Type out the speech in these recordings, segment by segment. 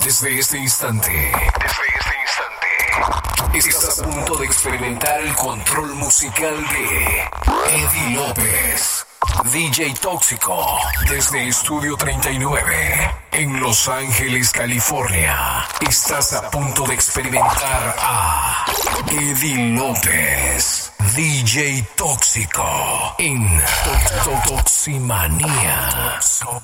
Desde este instante, estás a punto de experimentar el control musical de Eddie López, DJ Tóxico, desde Estudio 39, en Los Ángeles, California. Estás a punto de experimentar a Eddie López, DJ Tóxico, en Toximanía.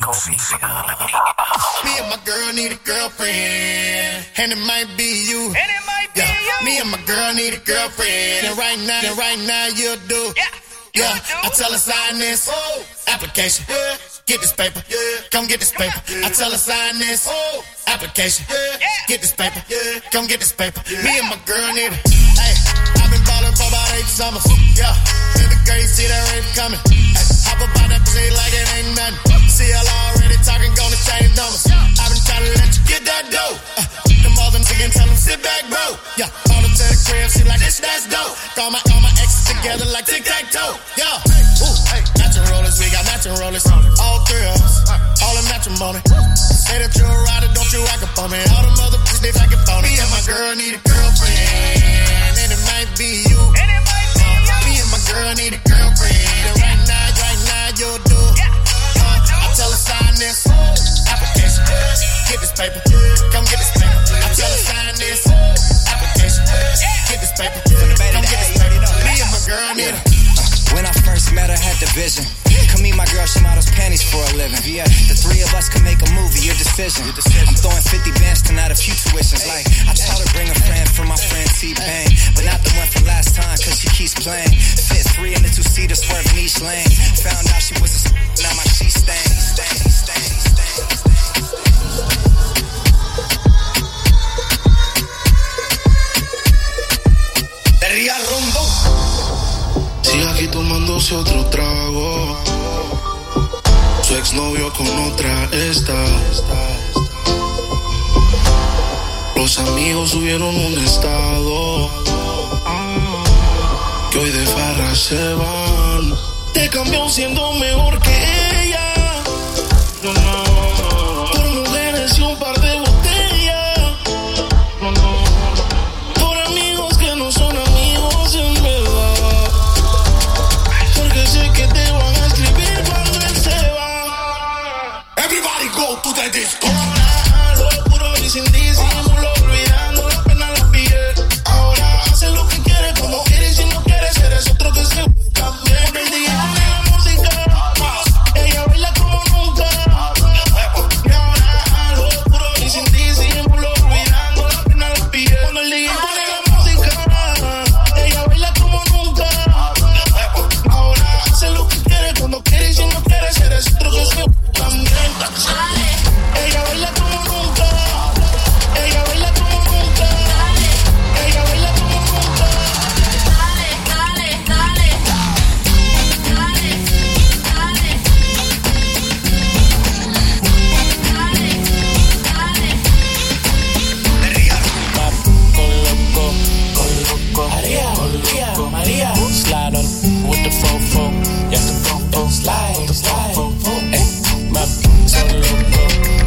Me and my girl need a girlfriend, and it might be you. Me and my girl need a girlfriend, and right now you'll do. Yeah, I tell her sign this application. Get this paper, come get this paper. I tell her sign this application. Get this paper, come get this paper. Me and my girl need it. Hey, I've been ballin' for about 8 summers. Yeah, feel the girl, see that rape coming. Hey, hop up on that pussy like it ain't nothing. See y'all already talking, gonna change numbers. I've been trying to let you get that dough. Them other niggas tell them sit back, bro. Yeah, all up to the crib, she like this, that's dope. Call my exes together like tic-tac-toe. Yeah, ooh, hey, matching rollers, we got matching rollers. All 3 of us, all in matrimony. Say that you're a rider, don't you act up on me. All them other bitches, they fucking phony. Me and my girl need a girlfriend, and it might be you. Me and my girl need a girlfriend, and right now you'll do. I tell her sign this application. Get this paper, come get this paper. I tell her sign this application. Get this paper, come get this paper. Me and my girl need it. When I first met her, had the vision. Come meet my girl, she models panties for a living. Yeah, the 3 of us can make a movie, your decision. I'm throwing 50 bands tonight, a few tuitions. Like, I told her bring a friend for my friend T-Bang, but not the one from last time, cause she keeps playing. Fit 3 in the 2-seater, swerving each lane. Found out she was a now my sheet stain. Sigue aquí tomándose otro trago. Su exnovio con otra está. Los amigos subieron un estado que hoy de farra se van. Te cambió siendo mejor que ella. Por mujeres y un par de botellas. Por amigos que no son amigos en verdad. Porque sé que te van a escribir cuando él se va. Everybody go to the disco. Lo puro y sin disimulo, olvidando la pena la piel. Ahora hace lo que quiere, como quiere, y si no quieres eres otro que se también. El día de la música, ella baila como nunca. Y ahora lo puro y sin disimulo, olvidando la pena la piel. Cuando el día pone la música, ella baila como nunca. Ahora hace lo que quiere, cuando quiere, y si no quieres eres otro que se también. Ella baila como nunca. Ella baila como nunca. Ella baila como nunca. María, slide on with the fofo, yeah, the fofo, slide, map, so loco,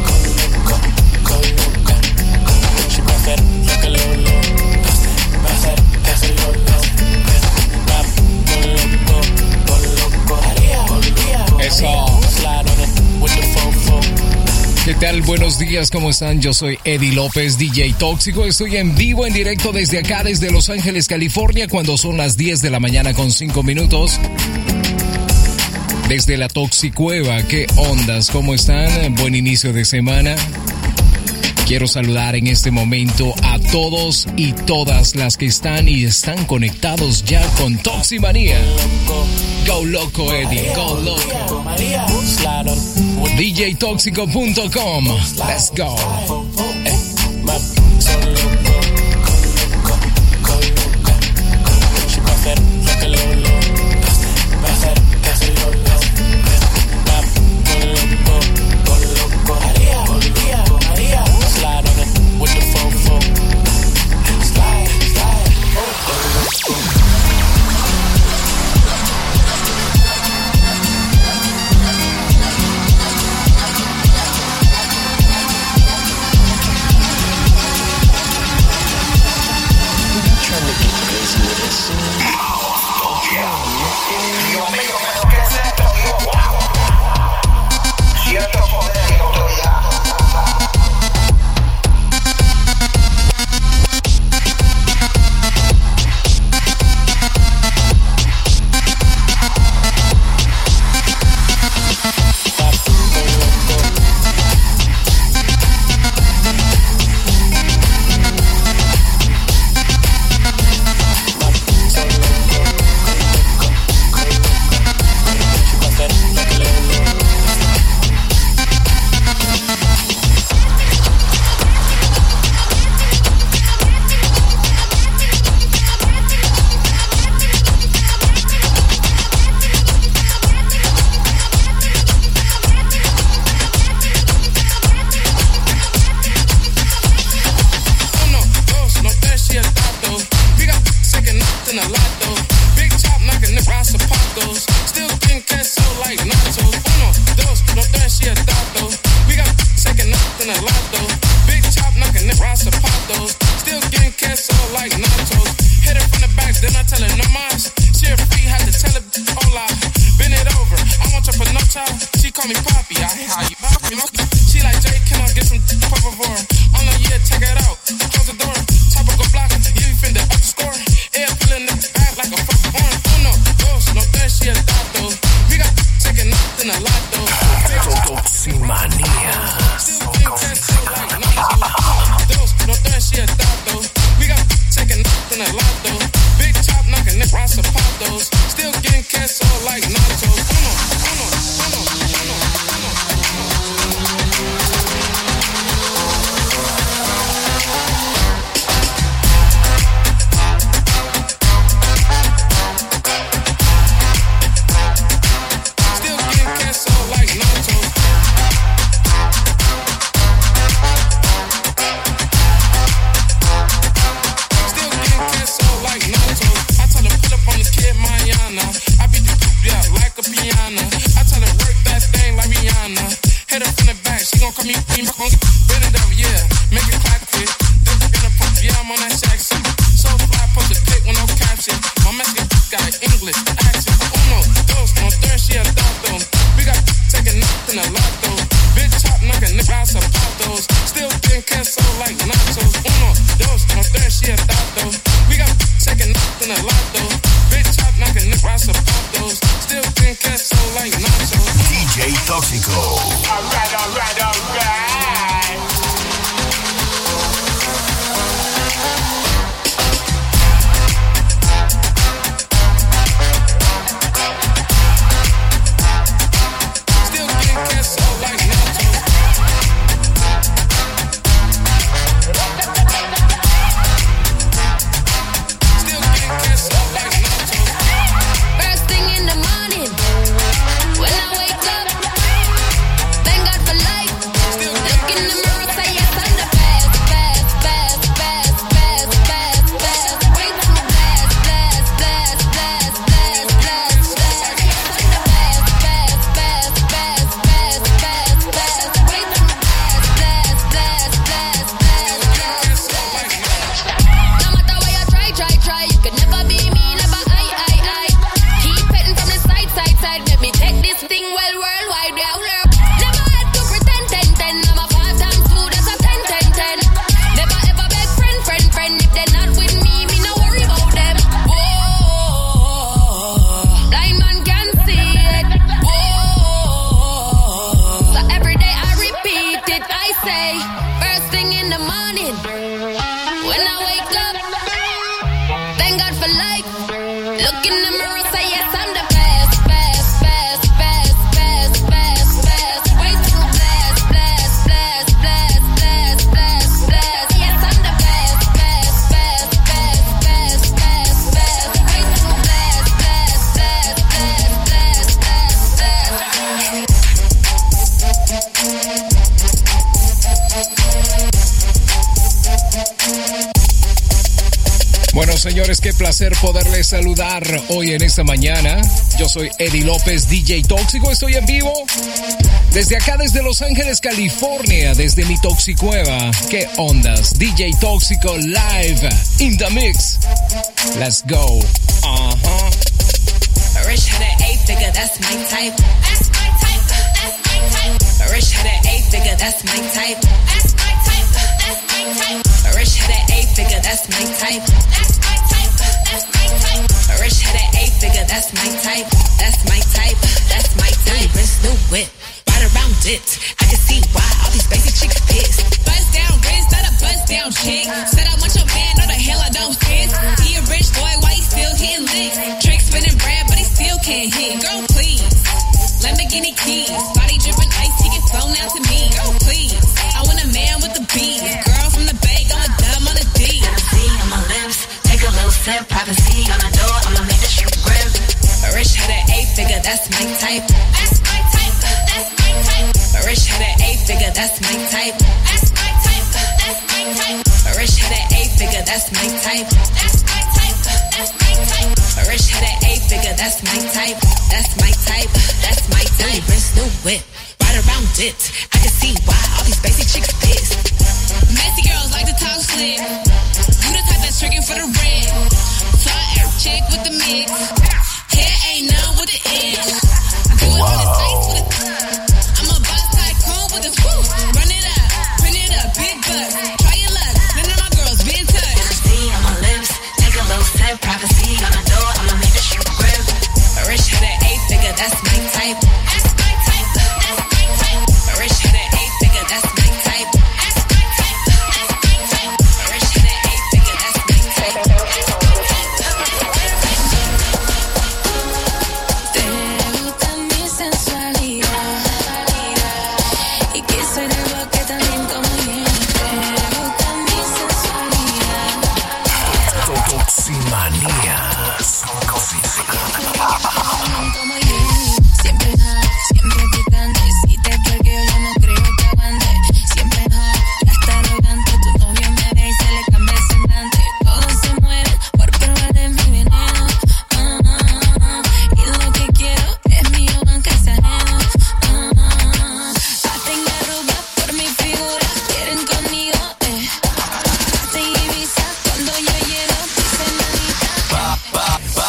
coloca, she prefer like a lolo, pasa el lolo, map, coloco, María, slide on it with the fofo. ¿Qué tal? Buenos días, ¿cómo están? Yo soy Eddie López, DJ Tóxico. Estoy en vivo, en directo desde acá, desde Los Ángeles, California, cuando son las 10 de la mañana con 5 minutos. Desde la Toxicueva, ¿qué ondas? ¿Cómo están? Buen inicio de semana. Quiero saludar en este momento a todos y todas las que están y están conectados ya con Toximanía. Go loco, Eddie, go loco. DJTóxico.com. Let's go. queso like nachos. Hit her from the back, then I tell her no mas. She a free, had to tell her hola. Bend it over, I want your panocha. She call me Poppy, I how you Poppy. She like, Jay, can I get some por favor? Oh no, yeah, check it out. Close the door, top of go block. You finna up the score. Air pulling the back like a fucking horn. Uno, dos, no tres, she a dato. We got taking nothing a lot though. Toximania. Still getting queso like nachos. Dos, no tres, she a dato. We got taking nothing a lot though. Big chop knocking the rasa patos. Still getting queso like nachos. Uno, uno, uno, uno, uno. Still getting queso like nachos. Still getting queso like nachos. I tell her pull up on the kid mañana. I beat the poop, yeah, like a piano. I tell her work that thing like Rihanna. Hit her from the back, she gon' call me queen. Bend it up, yeah, make it clap quick. Then we're gonna pop, yeah, I'm on that shack shit. So fly, post a pic with no caption. My Mexican guy, English, accent. Uno, dos, no tres, she a dato. We got taking nothing a lot though. Big chop knocking the ass about those. Still getting queso like nachos. Uno, dos, no tres, she a dato. We got taking nothing a lot though. Big chop knocking the ass about those. Still getting queso like nachos. DJ Tóxico. Alright. Still getting queso like nachos. Still getting queso like nachos. First thing in the morning, when I wake up, thank God for life. Look in the mirror, say yes, I'm the best. Way too blessed. Way too no matter what you try, you could never be me, never I. Keep petting from the side, let me take this thing well worldwide, yeah. Never had to pretend, 10. I'm a 5 times 2, that's a 10. Never ever beg friend, if they're not with me no worry about them. Whoa, blind man can see it. Whoa, so every day I repeat it, I say, first thing in the morning, when I wake up, thank God for life. Look in the mirror, say yes, I'm the best. Way too blessed. Yes, I'm the best. Way too Bueno, señores, qué placer poderles saludar hoy en esta mañana. Yo soy Eddie López, DJ Tóxico. Estoy en vivo desde acá, desde Los Ángeles, California, desde mi Toxicueva. ¿Qué ondas? DJ Tóxico live in the mix. Let's go. Rich had an 8-figure, that's my type. That's my type. That's my type. Rich had an 8-figure, that's my type. That's my type. That's my type. Rich had an 8-figure, that's my type. That's my type. That's my type. Rich had an 8-figure, that's my type. That's my type. That's my type. Wrist, new whip, right around it. I can see why all these basic chicks pissed. Buzz down wrist, not a buzz down chick. Said I want your man, no the hell I don't fit. He a rich boy, why he still hitting licks? Trick spinning bread, but he still can't hit. Girl, please. Lamborghini keys, body dripping ice, he get flown out to me. Girl, please. I want a man with the beat. Girl from the Bay, going dumb on the D. Hennessy on my lips, take a little sip. Privacy on the door, I'ma make the shit grip. Rich had an 8-figure, that's my type. That's my type. That's my type. Rich had an 8-figure, that's my type. That's my type. That's my type. Rich had an 8-figure, that's my type. That's my type. That's my type. Rich had an 8-figure, that's my type. That's my type. That's my type. Wrist, new whip, right around it. I can see why all these basic chicks pissed. Messy girls like to talk slick. You the type that Manías. Siempre picante. Si te perqueo, yo no creo que aguante. Siempre ya está arrogante. Tu novio me ve y se le cambia el semblante. Todos se mueren por probar de mi veneno. Y lo que quiero es mío, aunque sea ajeno. Hacen arrugas por mi figura. Quieren conmigo, Hacen Ibiza cuando yo llego. Dicen manita,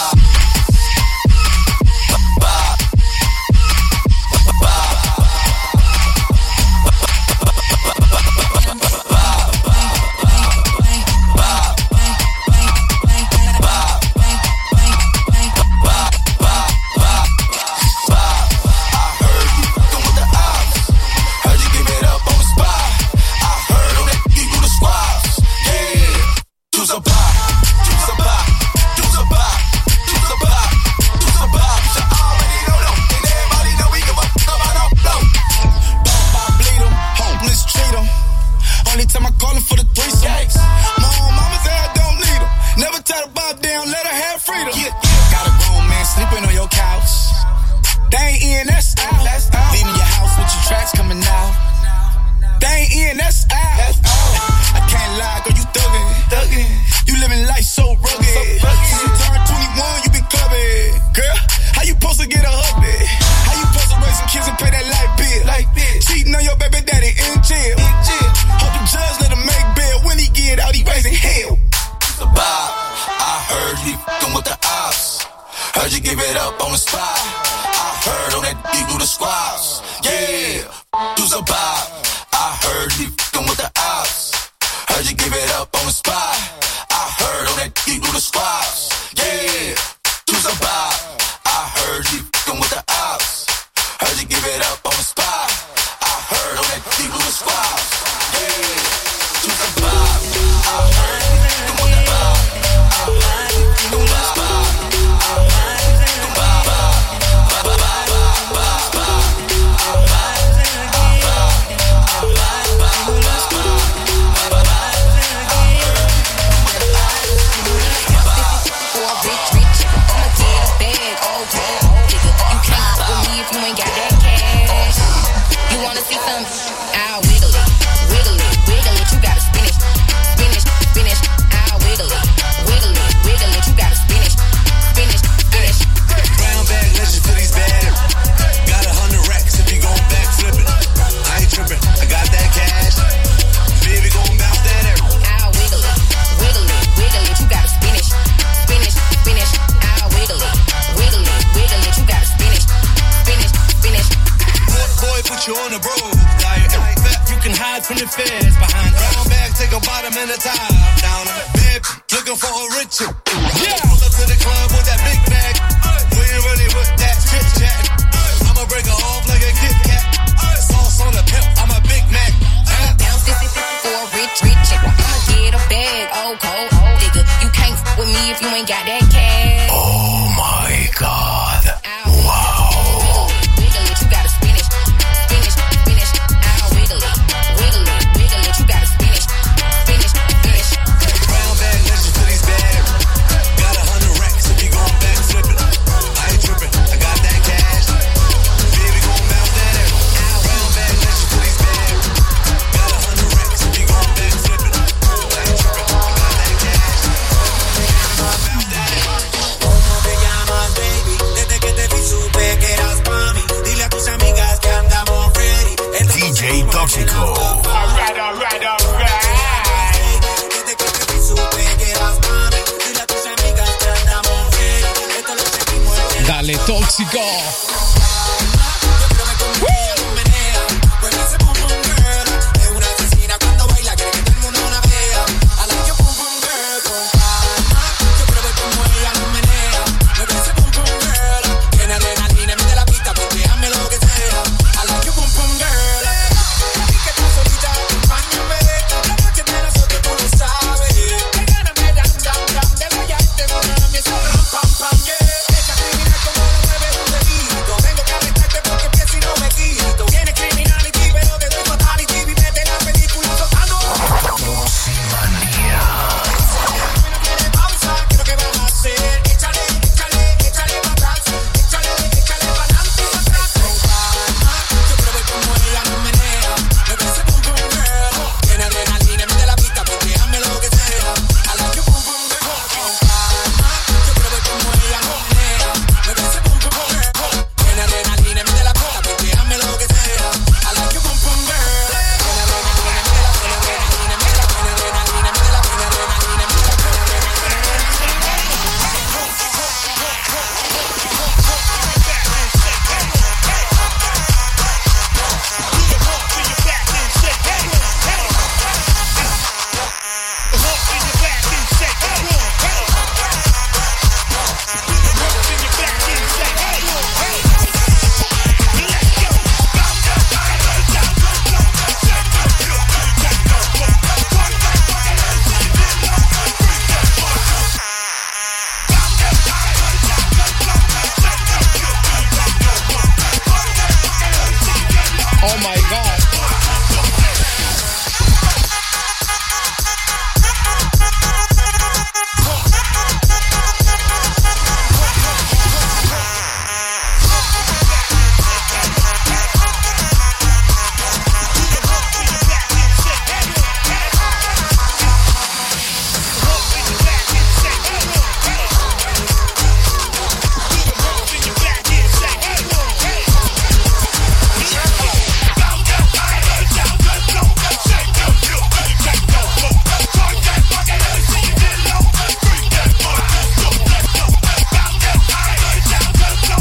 Tóxico. Vengo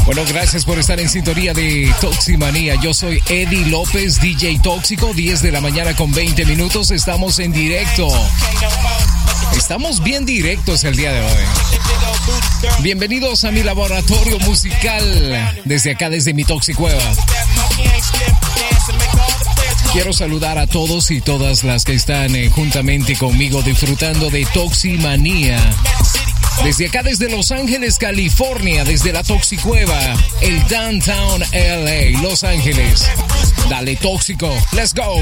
Bueno, gracias por estar en sintonía de Toximanía. Yo soy Eddie López, DJ Tóxico, 10 de la mañana con 20 minutos. Estamos en directo. Estamos bien directos el día de hoy. Bienvenidos a mi laboratorio musical desde acá, desde mi Toxicueva. Quiero saludar a todos y todas las que están juntamente conmigo disfrutando de Toximanía. Desde acá, desde Los Ángeles, California, desde la Toxicueva, el Downtown LA, Los Ángeles. Dale, Tóxico, let's go.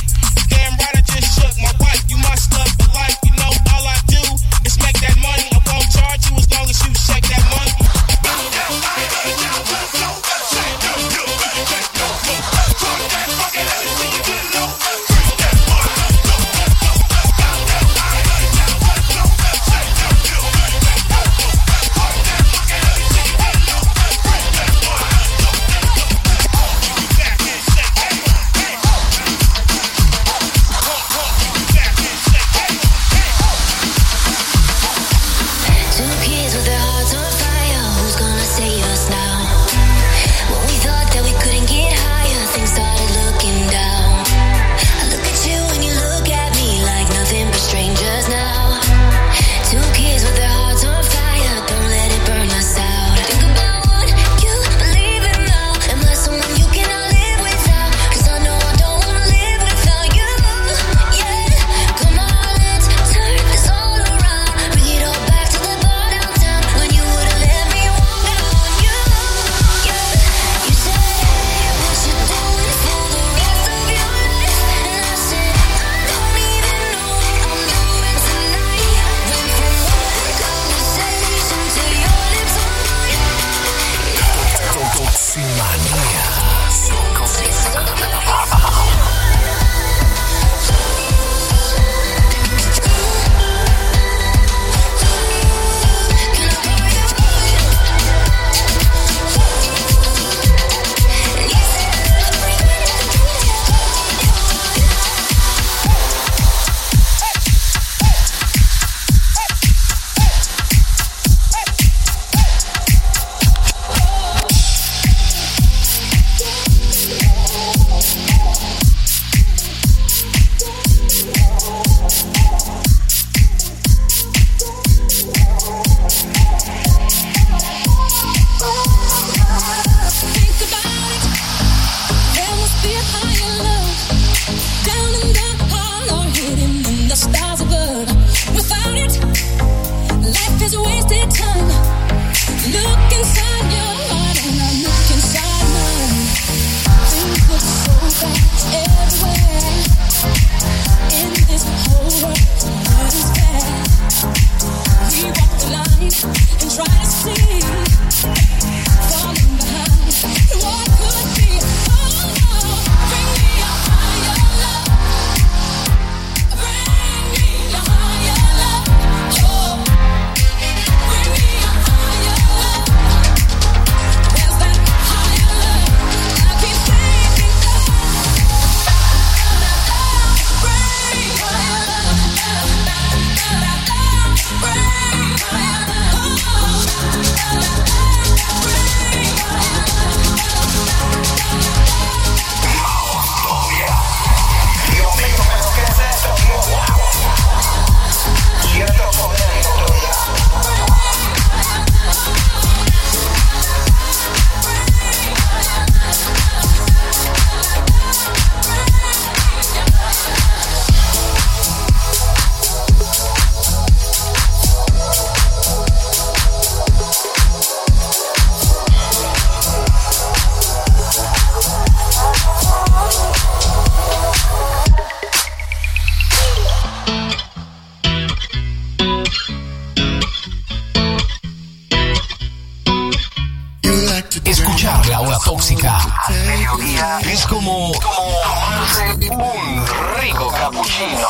Es como tomarse un rico cappuccino.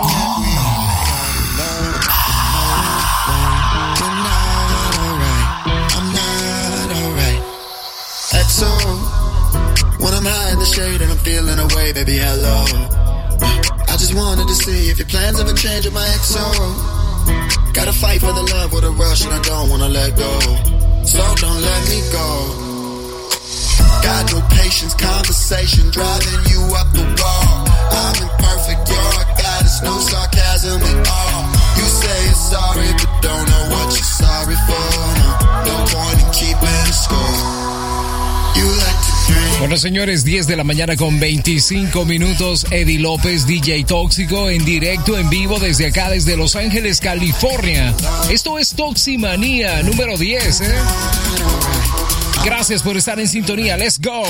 So when I'm high in the shade and I'm feeling away, baby, hello. I just wanted to see if your plans ever change with my XO. Gotta fight for the love with a rush and I don't wanna let go. so don't let me go. Got no patience, conversation driving you up the wall. I'm imperfect, you're a goddess, no sarcasm at all. You say you're sorry, but don't know what you're sorry for. No point in keeping score. You like to drink. Bueno, señores, 10 de la mañana con 25 minutos. Eddie López, DJ Tóxico, en directo, en vivo, desde acá, desde Los Ángeles, California. Esto es Toximanía número 10, ¿eh? Gracias por estar en sintonía. Let's go.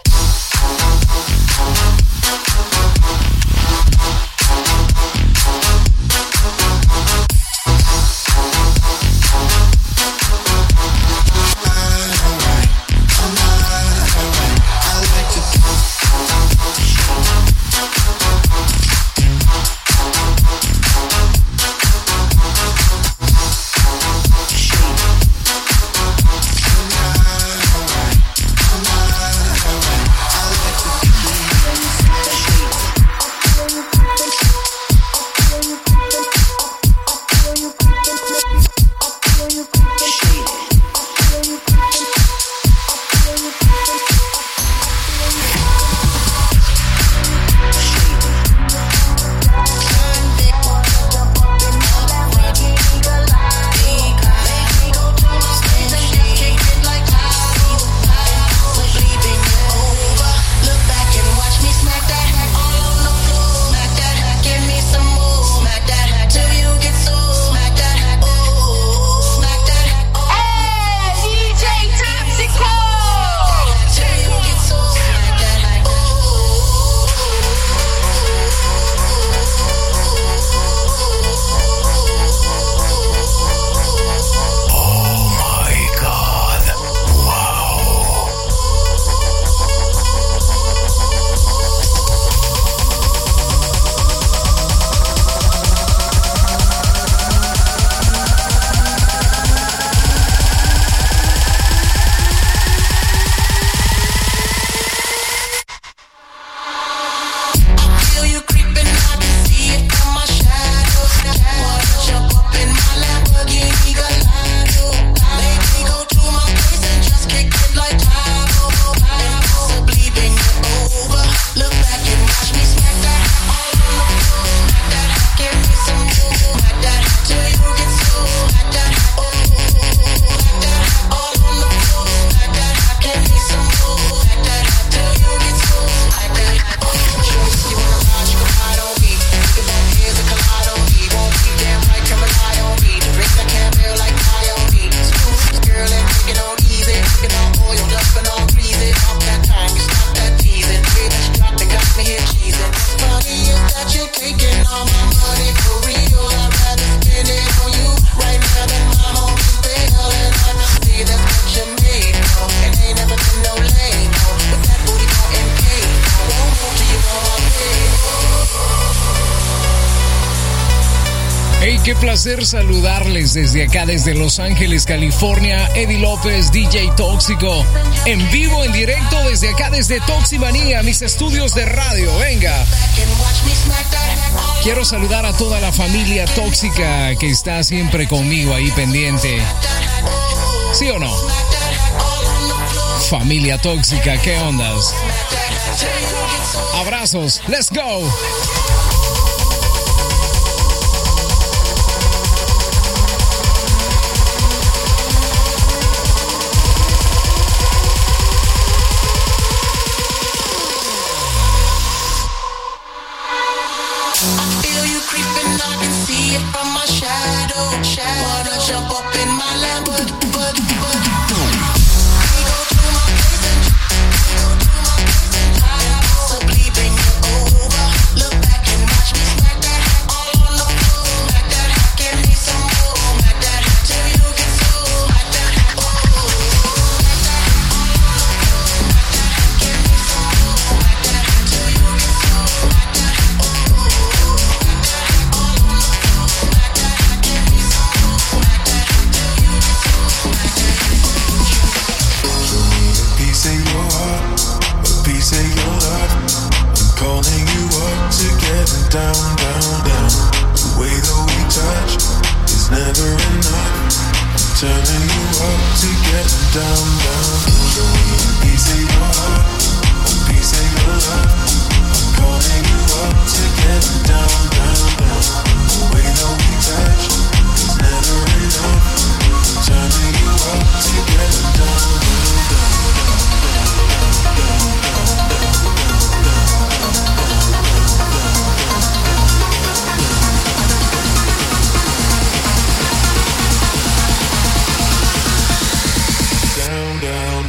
Qué placer saludarles desde acá, desde Los Ángeles, California. Eddie López, DJ Tóxico, en vivo, en directo, desde acá, desde Toximanía, mis estudios de radio. Venga. Quiero saludar a toda la familia tóxica que está siempre conmigo ahí pendiente. ¿Sí o no? Familia tóxica, ¿qué ondas? Abrazos, let's go. Turning you up to get down, down. Show me a piece of your heart, a piece of your love. I'm calling you up to get down, down, down. The way that we touch is never enough. Turning you up to get down, down, down, down.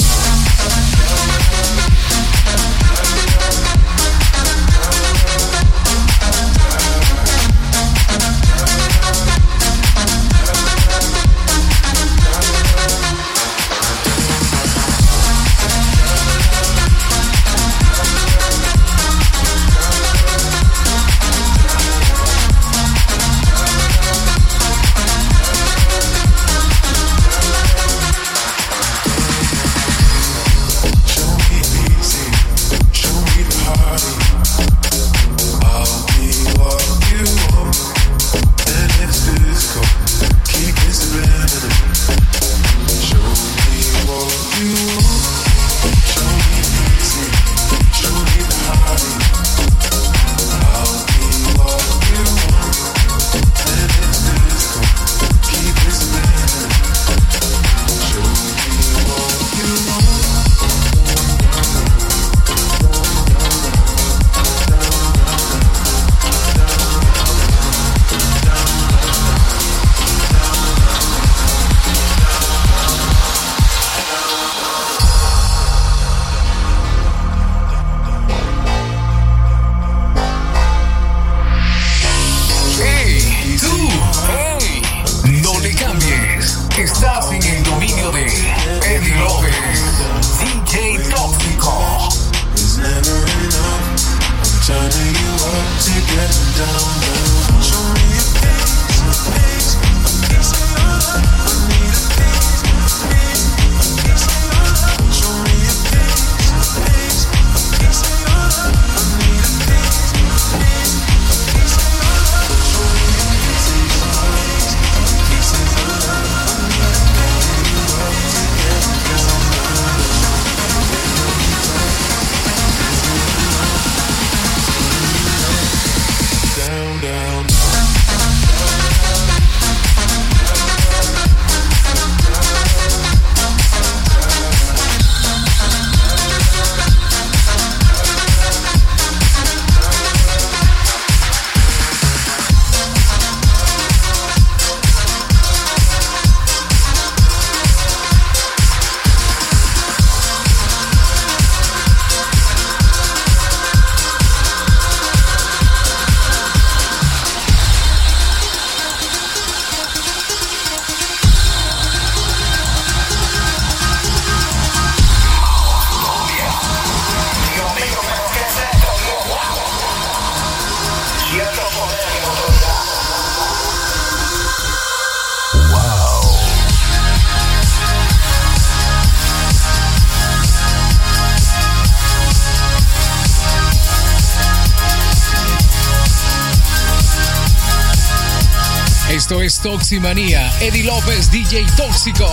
Esto es Toximanía. Eddie López, DJ Tóxico.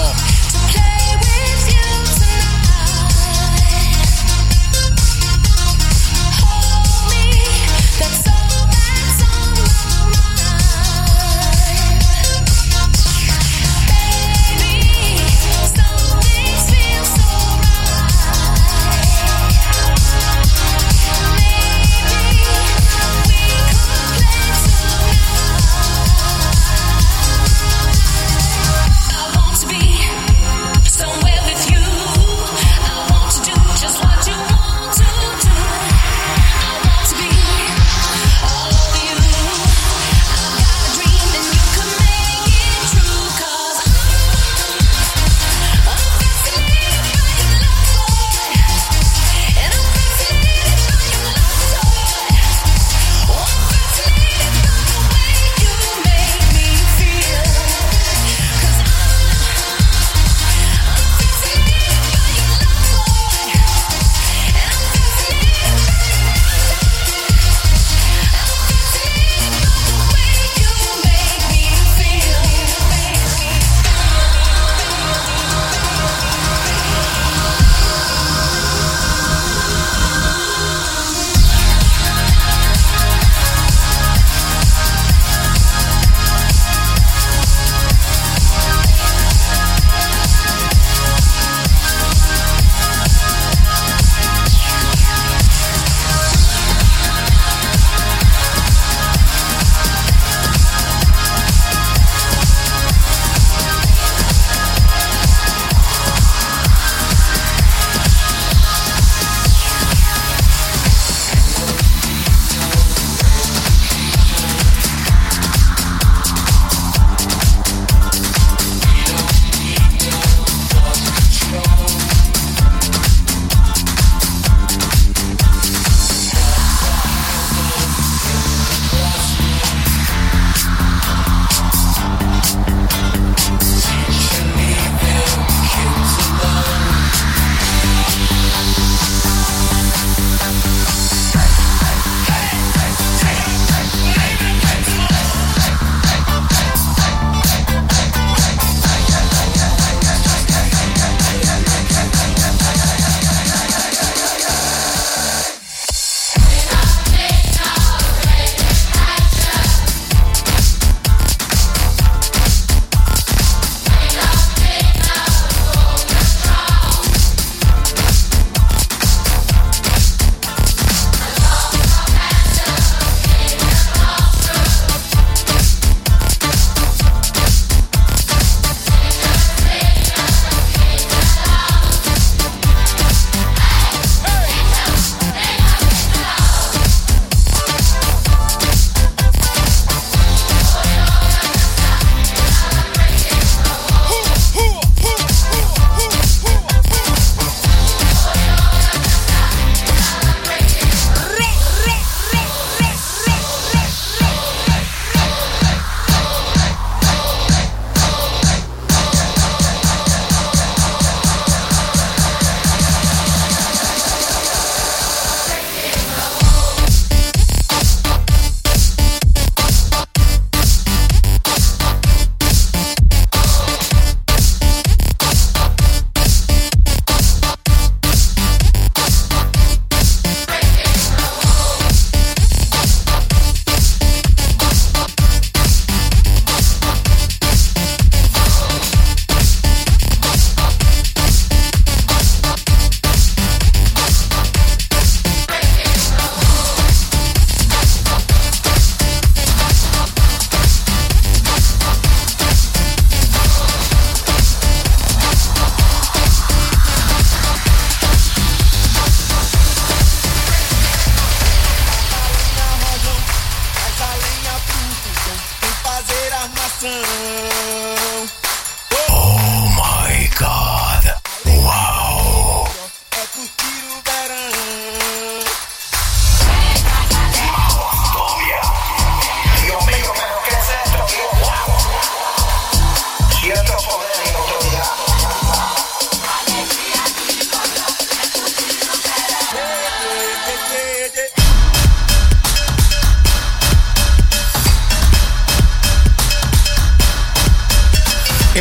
Somewhere with you.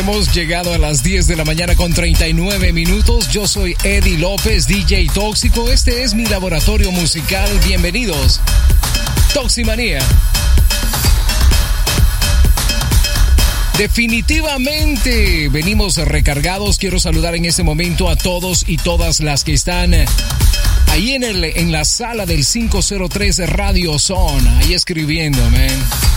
Hemos llegado a las 10 de la mañana con 39 minutos. Yo soy Eddie López, DJ Tóxico. Este es mi laboratorio musical. Bienvenidos. Toximanía. Definitivamente venimos recargados. Quiero saludar en este momento a todos y todas las que están ahí en la sala del 503 Radio Zone, ahí escribiendo, man.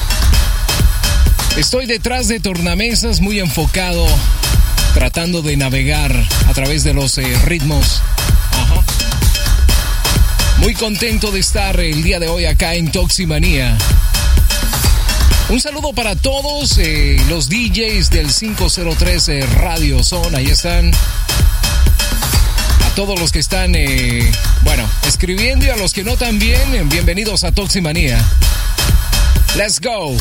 Estoy detrás de tornamesas, muy enfocado, tratando de navegar a través de los ritmos. Ajá. Muy contento de estar el día de hoy acá en Toximanía. Un saludo para todos los DJs del 503 Radio Zone, ahí están. A todos los que están, escribiendo, y a los que no también, bienvenidos a Toximanía. Let's go.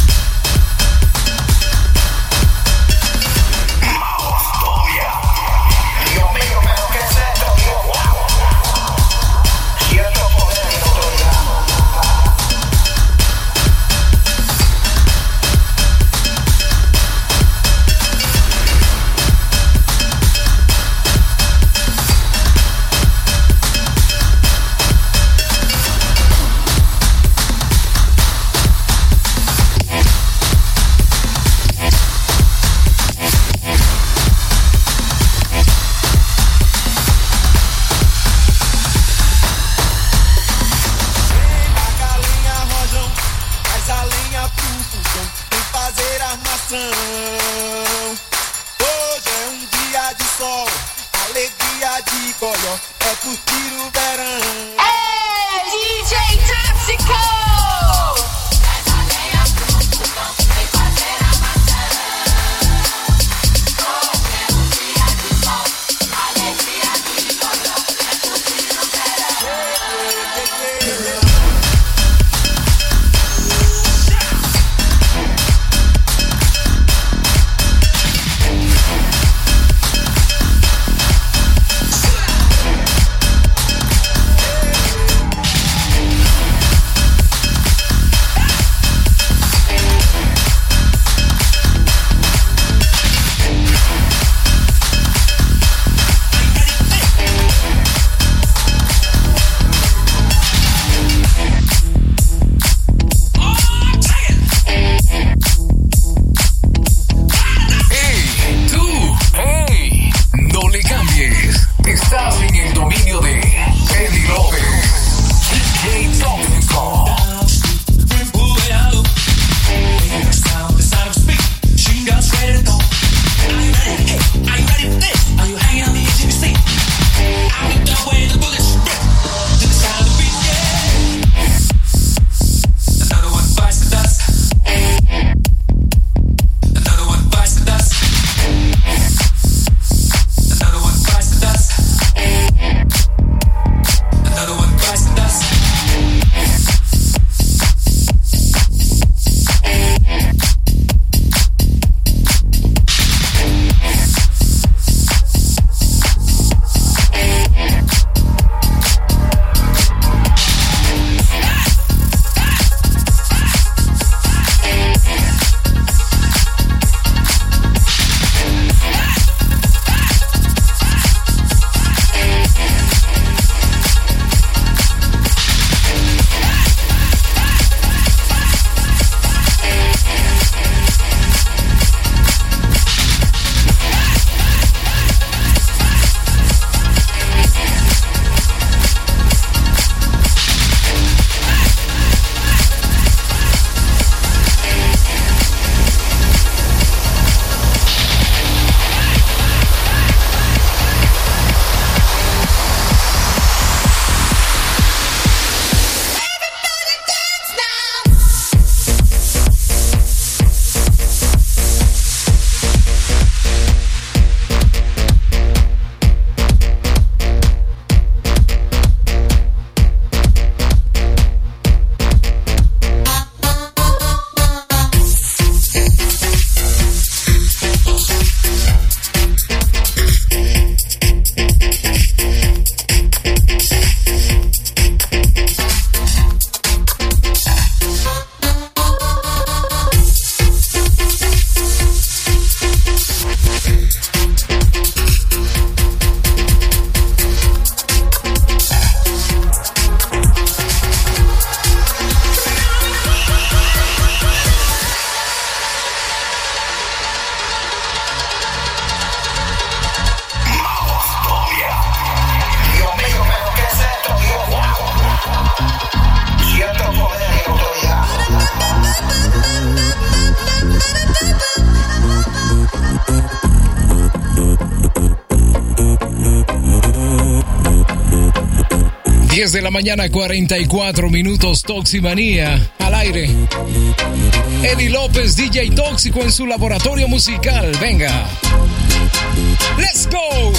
10 de la mañana, 44 minutos, Toximanía al aire. Eddie López, DJ Tóxico en su laboratorio musical. Venga. Let's go.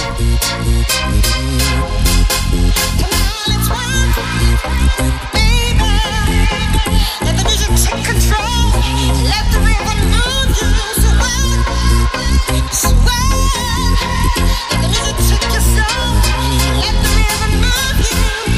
Let the music take control. Let the rhythm move you. Sweat. Let the music take your soul. Let the rhythm move you.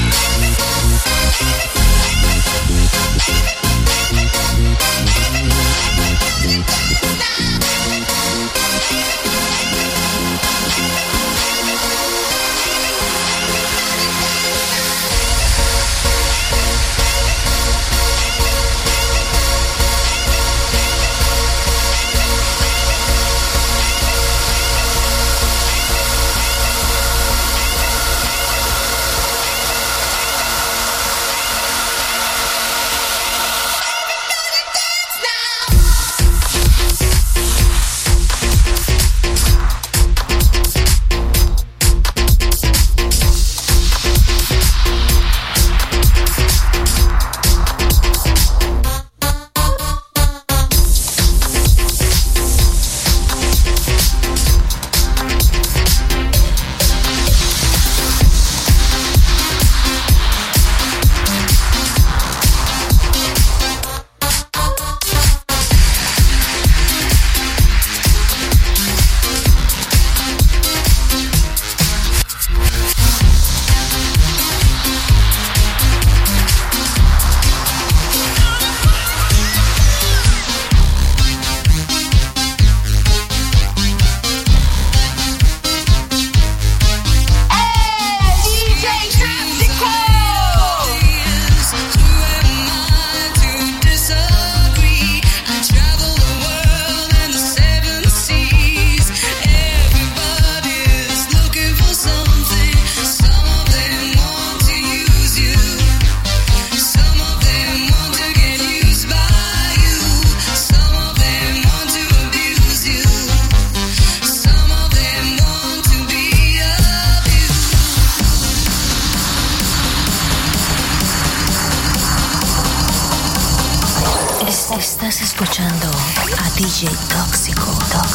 Estás escuchando a DJ Tóxico.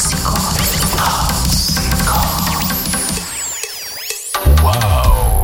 Wow.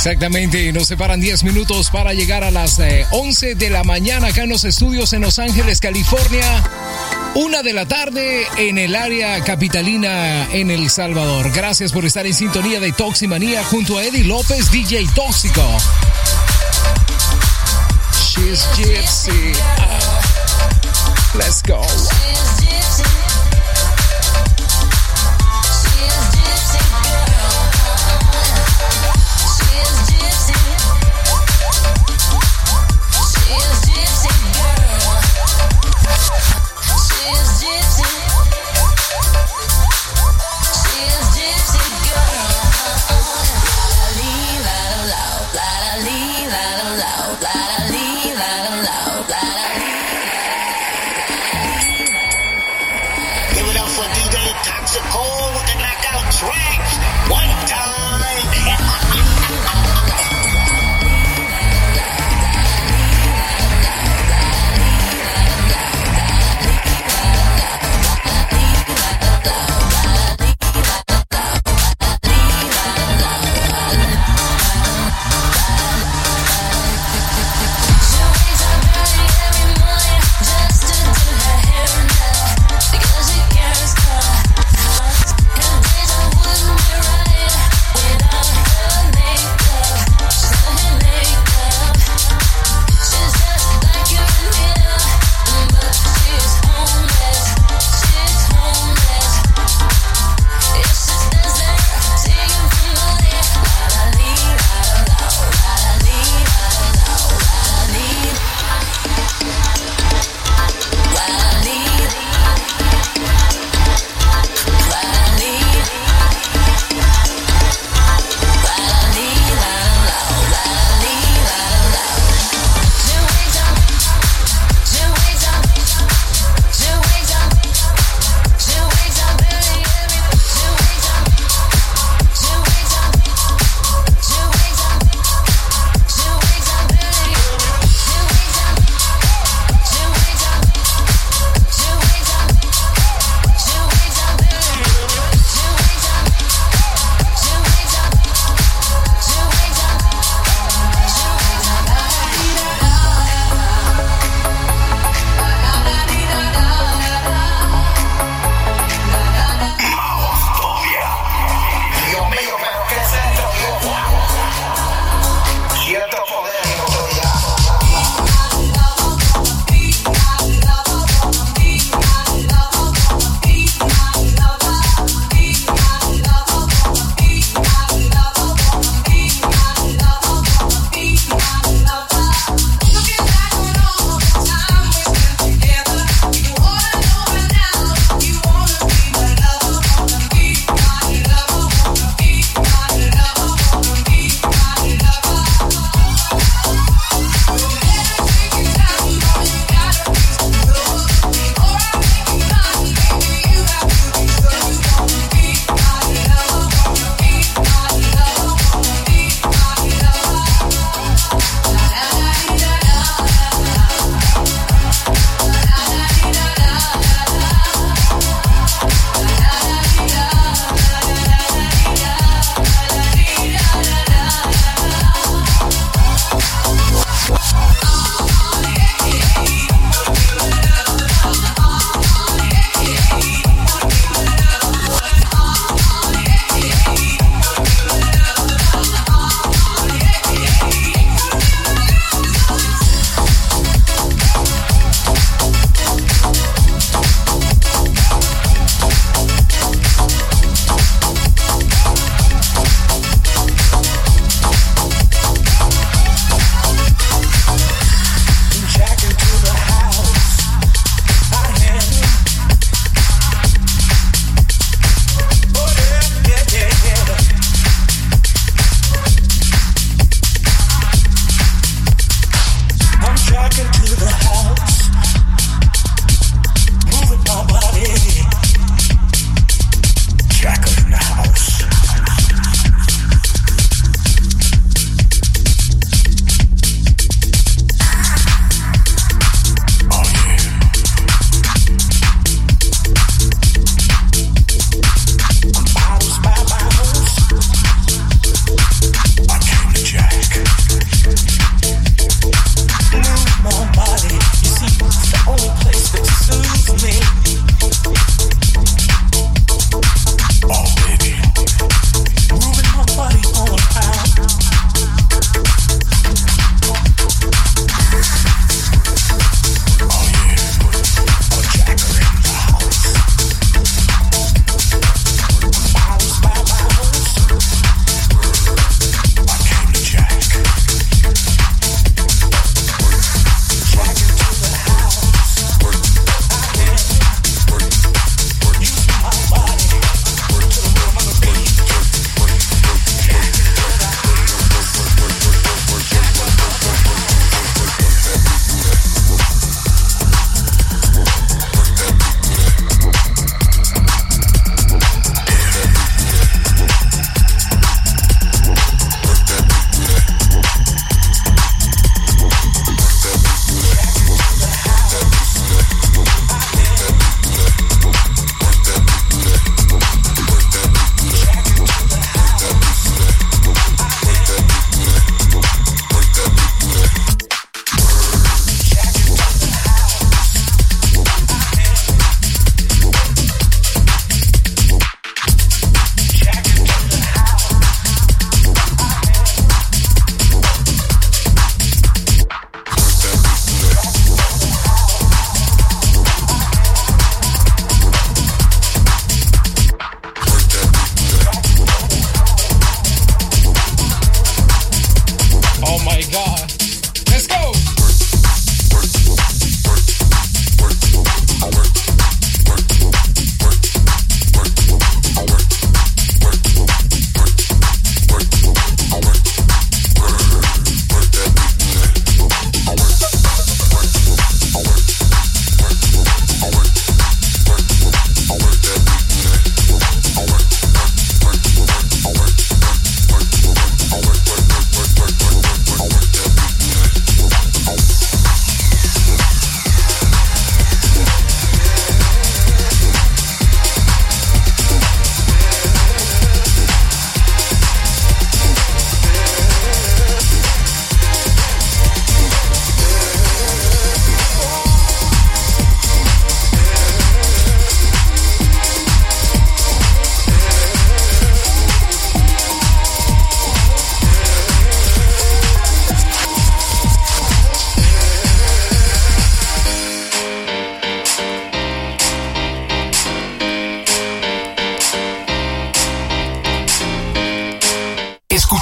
Exactamente, nos separan 10 minutos para llegar a las 11 de la mañana acá en los estudios en Los Ángeles, California. 1 de la tarde en el área capitalina en El Salvador. Gracias por estar en sintonía de Toximanía junto a Eddie López, DJ Tóxico. She's Gypsy. Let's go.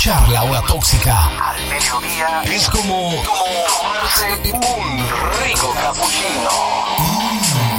escuchar la hora tóxica al mediodía es como tomarse un rico cappuccino.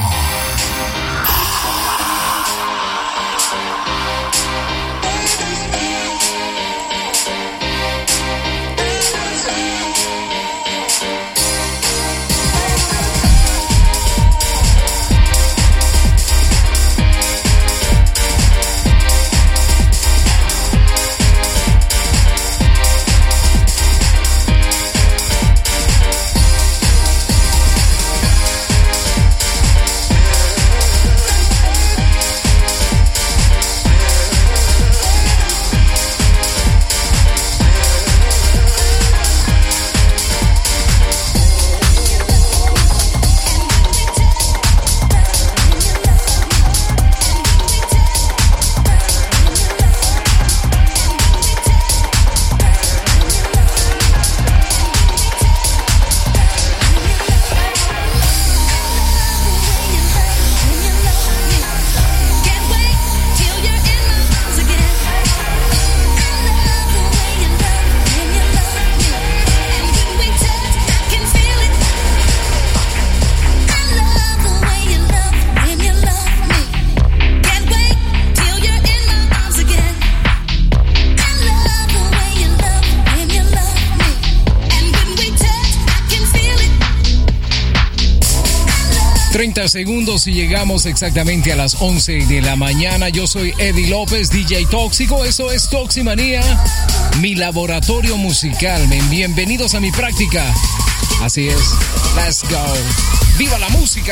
Segundos y llegamos exactamente a las 11 de la mañana. Yo soy Eddie López, DJ Tóxico. Eso es Toximanía, mi laboratorio musical. Bienvenidos a mi práctica. Así es. Let's go. ¡Viva la música!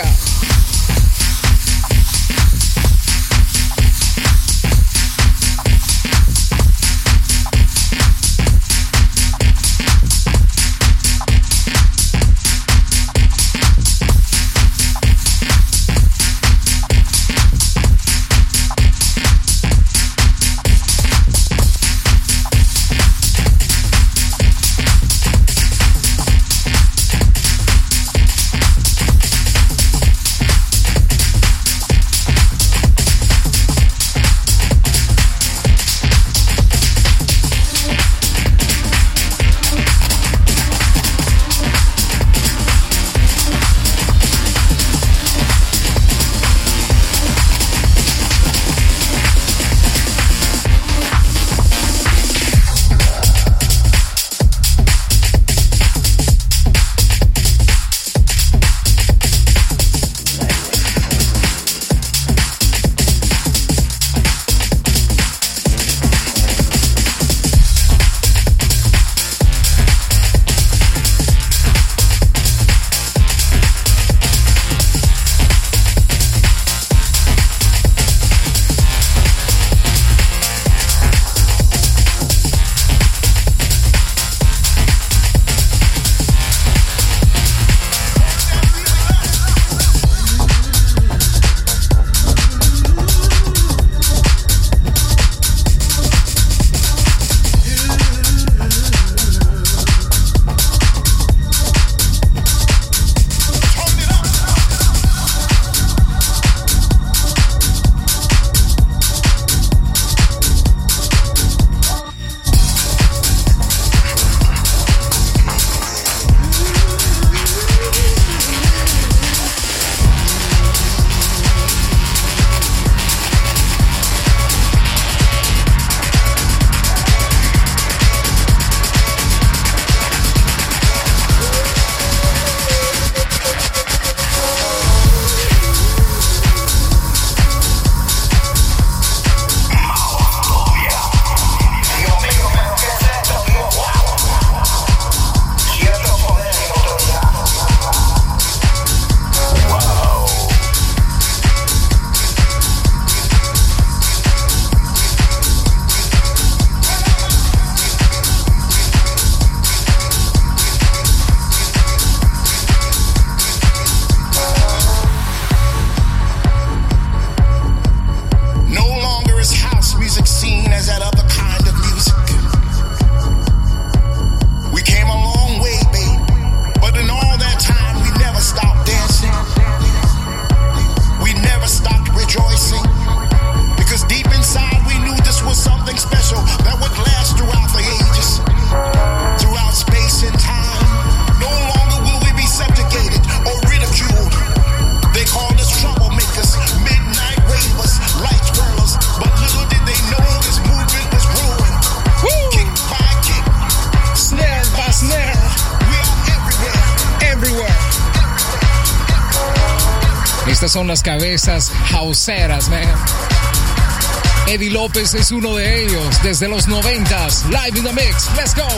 son las cabezas houseeras, man. Eddie López es uno de ellos, desde los 90s, live in the mix. Let's go.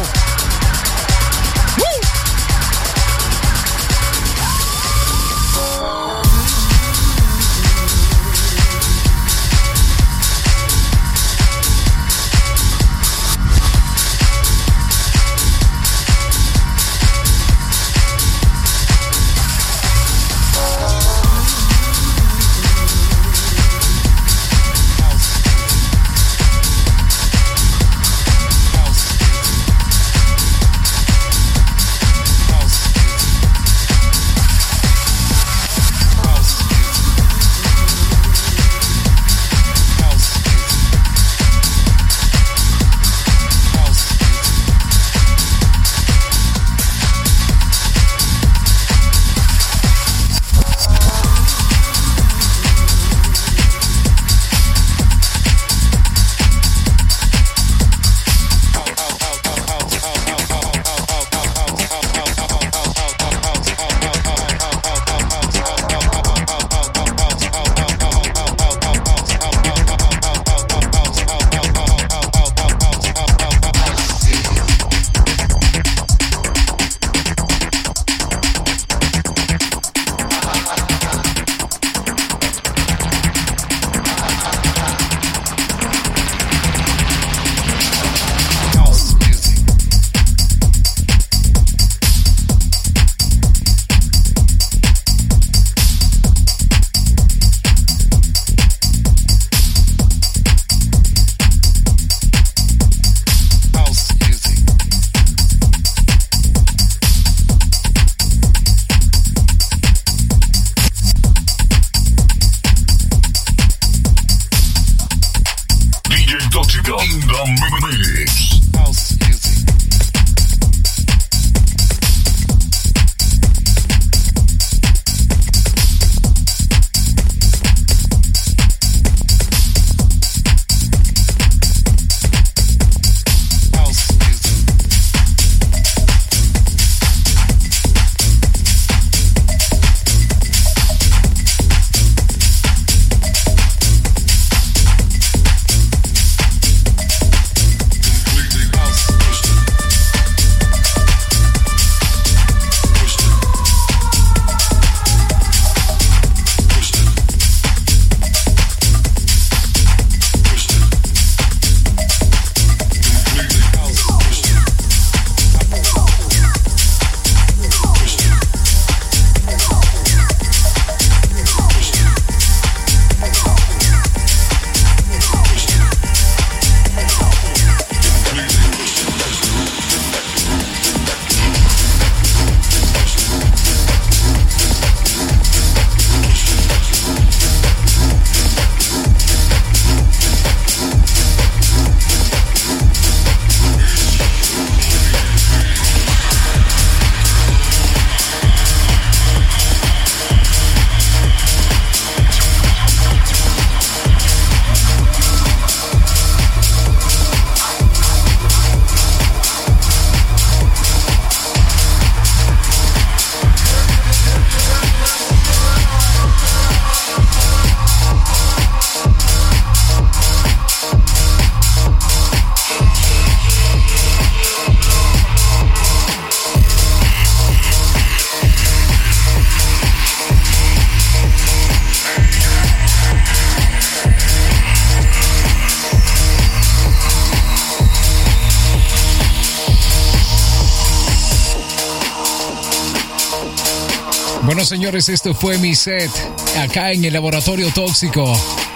Bueno, señores, esto fue mi set acá en el Laboratorio Tóxico.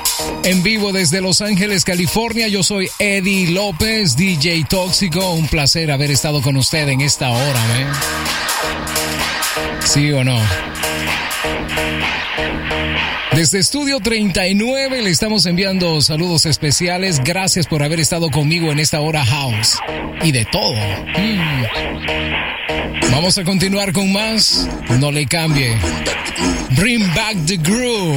En vivo desde Los Ángeles, California. Yo soy Eddie López, DJ Tóxico. Un placer haber estado con usted en esta hora, ¿eh? ¿Sí o no? Desde Estudio 39 le estamos enviando saludos especiales. Gracias por haber estado conmigo en esta hora house. Y de todo. Vamos a continuar con más. No le cambie. Bring back the groove.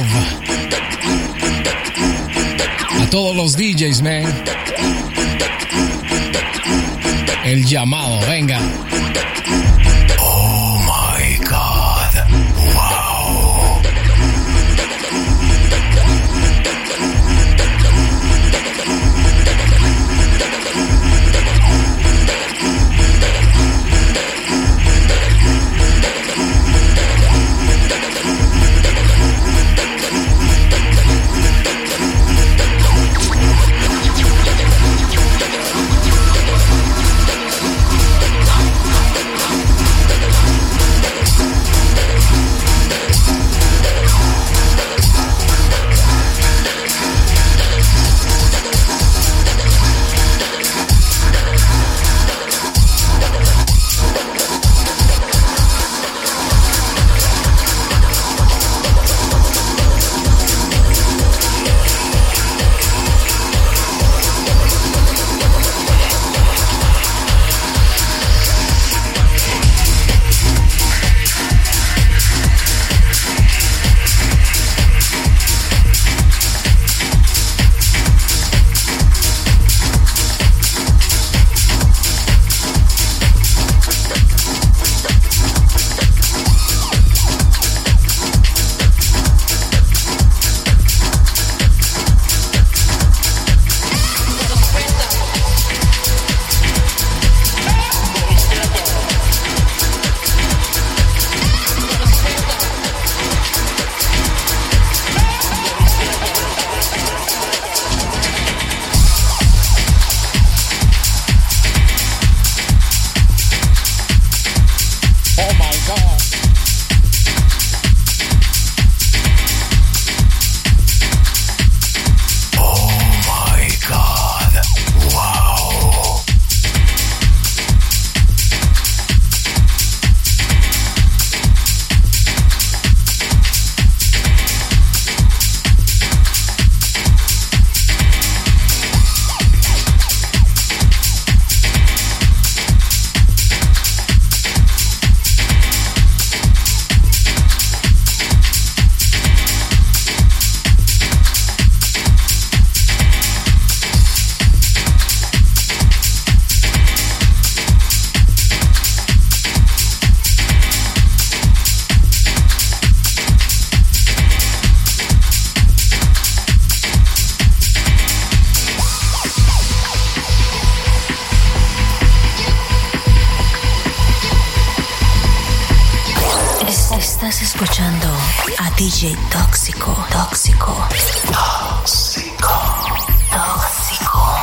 A todos los DJs, man. El llamado, venga. Oh my God. Wow. DJ Tóxico, tóxico, tóxico, tóxico.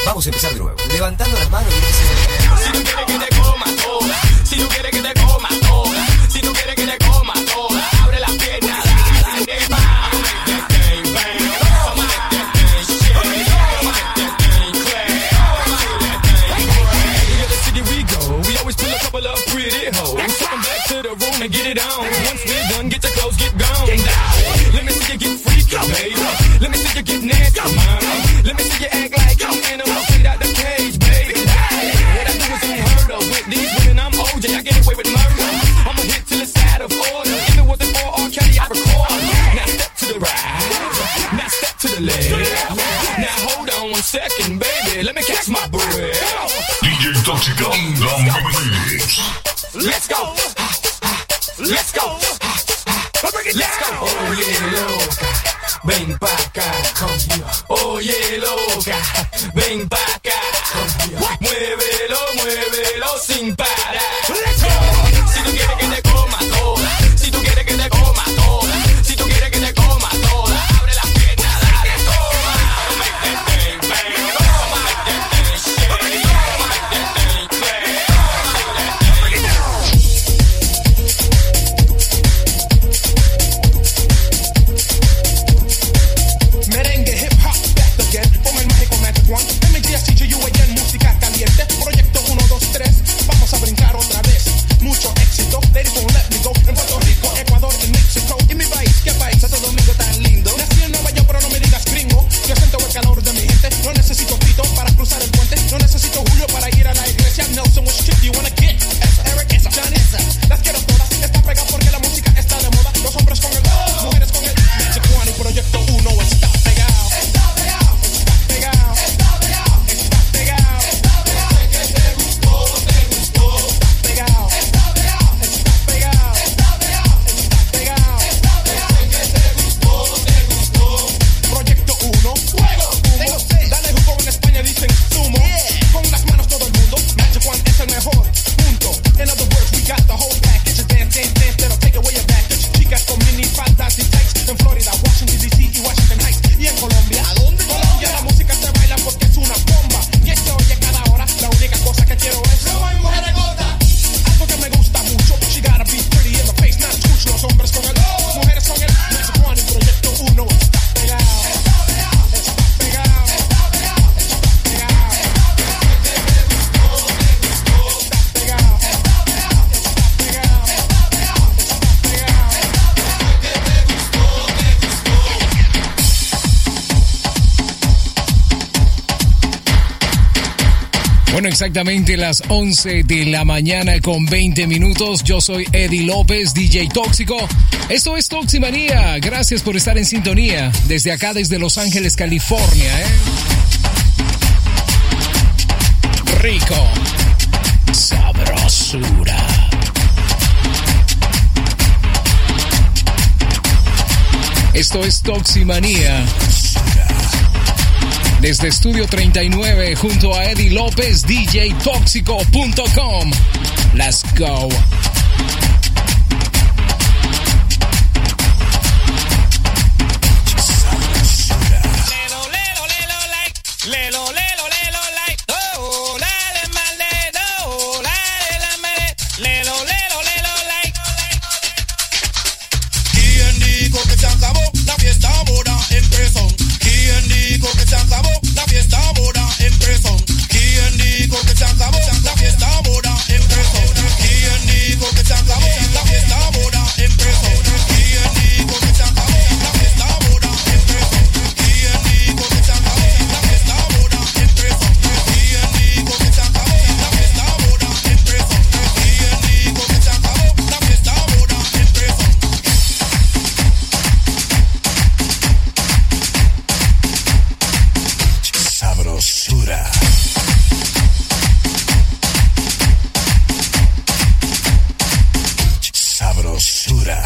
Vamos a empezar de nuevo. Levantando las manos y diciendo... Si tú quieres que te coma toda, si tú quieres que te coma toda, si tú quieres que te coma toda, abre las piernas, dale, va. And get it on. Once we're done, get your clothes, get gone. Let me see you get freaky, baby. Let me see you get nasty, mama. Let me see you act like an animal straight out the cage, baby. What I do is unheard of. With these women, I'm OJ. I get away with murder. I'm a hit till it's out of order. If it wasn't for R. Kelly, I record. Now step to the right. Now step to the left. Now hold on 1 second, baby. Let me catch my breath. DJ Tóxico, the mix. Let's go. Let's go. Let's go. Oye, loca, ven pa' acá. Oye, loca, ven pa' acá. Muévelo, muévelo sin parar. Let's go. Si tú quieres que te coma toda, si tú quieres que te coma toda, si tú quieres que te coma toda, abre las piernas, dale, toma. Make that thing bang, make that thing shake, make that thing clap. Merengue, hip hop, back again. Como el mágico Magic One. MGSTGU again, música caliente. Proyecto 1, 2, 3. Vamos a brincar otra vez. Mucho éxito. Ladies don't let me go. En Puerto Rico, Ecuador, en México. Y mi país, ¿qué país? Santo Domingo tan lindo. Nací en Nueva York, pero no me digas gringo. Yo siento el calor de mi gente. No necesito Tito para cruzar el puente. No necesito Julio para ir a la iglesia. Nelson, which chick do you wanna get? Esa, Eric, esa, Johnny, esa. Las quiero todas. Está pegada porque la música está de moda. Los hombres con el mujeres con el Magic One y Proyecto 1 está pegado. Está pegado. Está pegado. Está pegado. Está pegado. Está pegado. Que te gustó, te gustó. Está pegado. Está pegado. Está pegado. Está pegado. Está pegado. Está pegado. Que te gustó, te gustó. Proyecto 1. Fuego. Dale jugo en España dicen sumo. Con las manos todo el mundo. Magic One es el mejor. Punto. In other words, we got the whole package. Dance, dance, dance, that'll take away your baggage. Chicas con mini faldas y tights. En Florida, Washington DC y Washington Heights. Y en Colombia. ¿A dónde? Colombia, la música se baila porque es una bomba. Y se oye cada hora. La única cosa que quiero es mujer gota. Algo que me gusta mucho. She gotta be pretty in the face, not touch. Los hombres con el mujeres con el Magic One y Proyecto 1 está pegado. Está pegado. Está pegado. Está pegado. Está pegado. Te gustó, te gustó. Está pegado. Está pegado. Está pegado. Está pegado. Está pegado. Que te gustó, te gustó. Bueno, exactamente las 11 de la mañana con 20 minutos. Yo soy Eddie López, DJ Tóxico. Esto es Toximanía. Gracias por estar en sintonía. Desde acá, desde Los Ángeles, California, Rico. Sabrosura. Esto es Toximanía. Desde Estudio 39 junto a Eddie López, DJTóxico.com. Let's go. ¿Quién dijo que se acabó? La fiesta ahora empezó. ¿Quién dijo que se acabó? La fiesta ahora empezó. ¿Quién dijo que se acabó? La fiesta ahora empezó. ¿Quién dijo que se acabó? La fiesta ahora empezó. ¿Quién dijo que se acabó? La fiesta ahora empezó. ¿Quién dijo que se acabó? La fiesta ahora empezó. ¿Quién dijo que se acabó? La fiesta ahora empezó. ¿Quién dijo que se acabó? La fiesta ahora empezó. Sabrosura. Sabrosura.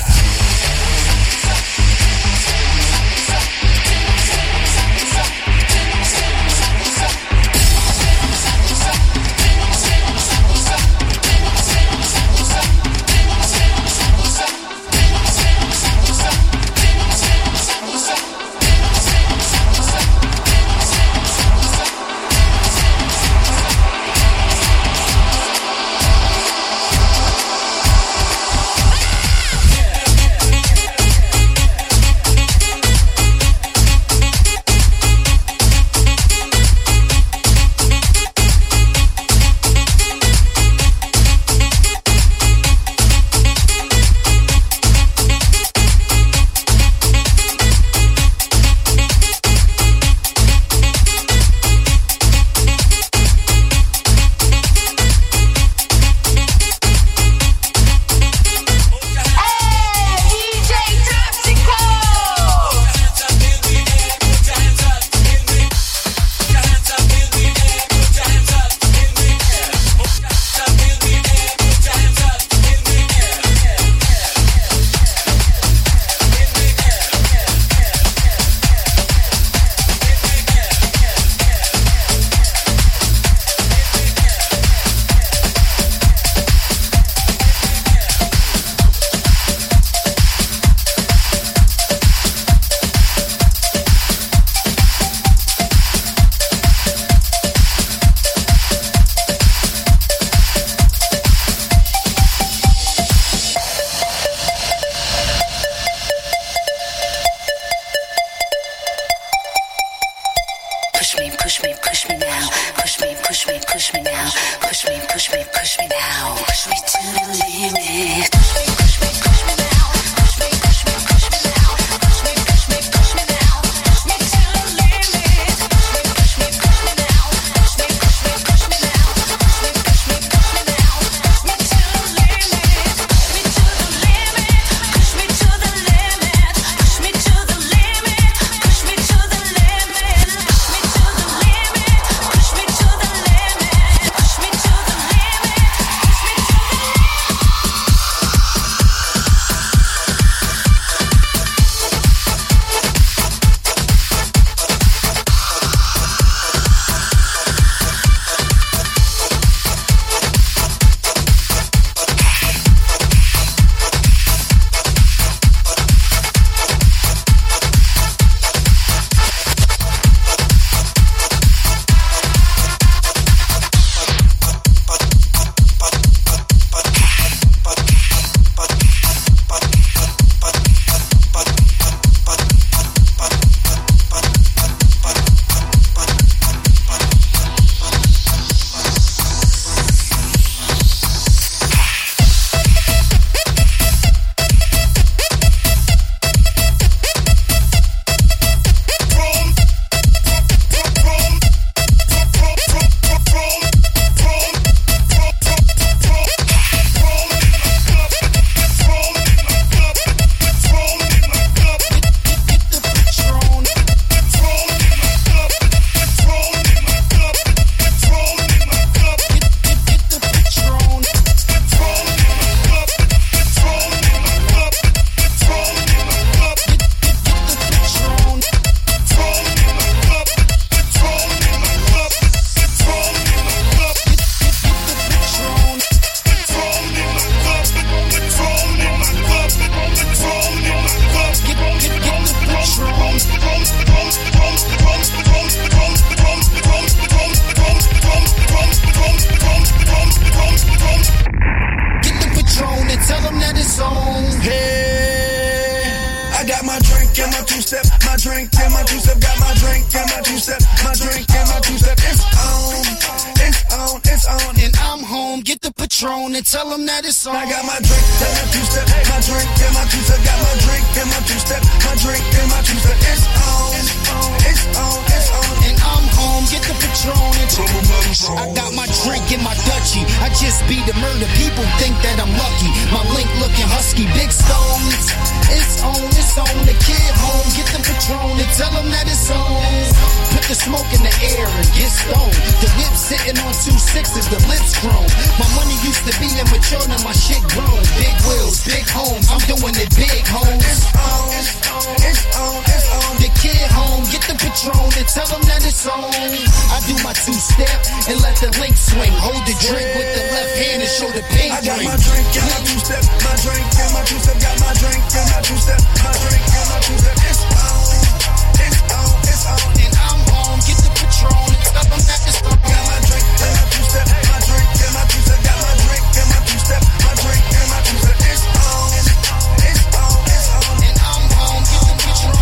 Patron and tell them that it's on. I got my drink and my two-step, my drink and my two-step. Got my drink and my two-step, my drink and my two-step. It's on, it's on, it's on. And I'm home, get the Patron and tell them that it's on. I got my drink in my Dutchie. I just beat the murder. People think that I'm lucky. My link looking husky, big stones. It's on, it's on. The kid home, get the Patron and tell them that it's on. Put the smoke in the air and get stoned. The whip sitting on 2 6s, the lips grown. My money used to be immature, now my shit grown. Big wheels, big homes, I'm doing it big, homes. It's on, it's on, it's on, it's on. The kid home, get the Patron and tell them that it's on. I do my 2-step and let the link swing. Hold the drink with the left hand and show the pink I got drink. my drink and my two-step, my drink and my two-step. Got my drink and my two-step, my drink and my two-step. It's on, it's on, it's on. And I'm home, get the Patron and tell them that it's on. Got my drink and my two-step, my drink and my two-step. Got my drink and my two-step, my drink and my two-step. It's on, it's on, it's on. And I'm home, get the Patron.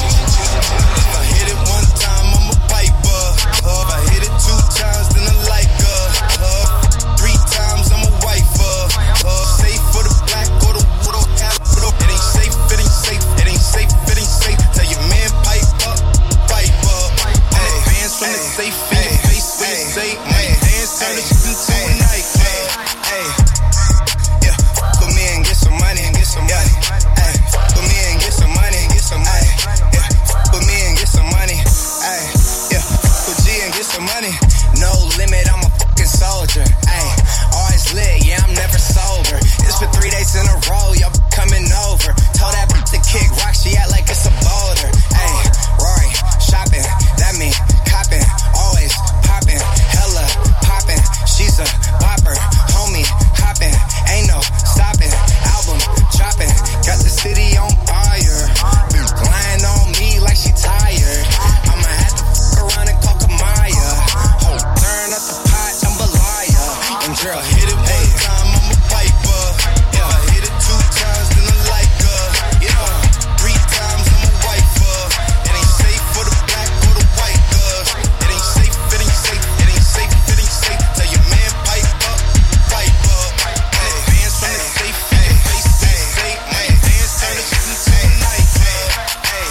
If I hit it one time, I'm a piper. If I hit it 2 times, then I like her. 3 times, I'm a wifer. Safe for the black or the wood or cap. It ain't safe, it ain't safe, it ain't safe, it ain't safe. Tell your man pipe up, pipe up. Hey, bands from the safe in your face when you say, money dance, turn the shit into a night. Hey, yeah, put me and get some money and get some money. Hey, put me and get some money and get some money. Yeah, put me and get some money. Hey, yeah, put G and get some money. No limit, I'm a fucking soldier. Hey, always lit, yeah, I'm never sober. It's for 3 days in a row, y'all coming over. Told that bitch to kick rock, she act like it's a boulder. Hey, Rory, shopping, that mean copping, always popping, hella popping. She's a bopper, homie, hopping, ain't no stopping. Album dropping, got the city on fire. Bitch lying on me like she tired. I'ma have to fuck around and call Kamaya. Hold, turn up the pot, jambalaya. And girl, hit it one time, I'm a piper. Yeah, I hit it 2 times, then I like her. Yeah, 3 times, I'm a wifer. It ain't safe for the black or the white girls. It ain't safe, it ain't safe, it ain't safe, it ain't safe. Tell your man pipe up, pipe up. Hey, bands from the safe in your face, say, money dance, turn the shit into a night. Hey.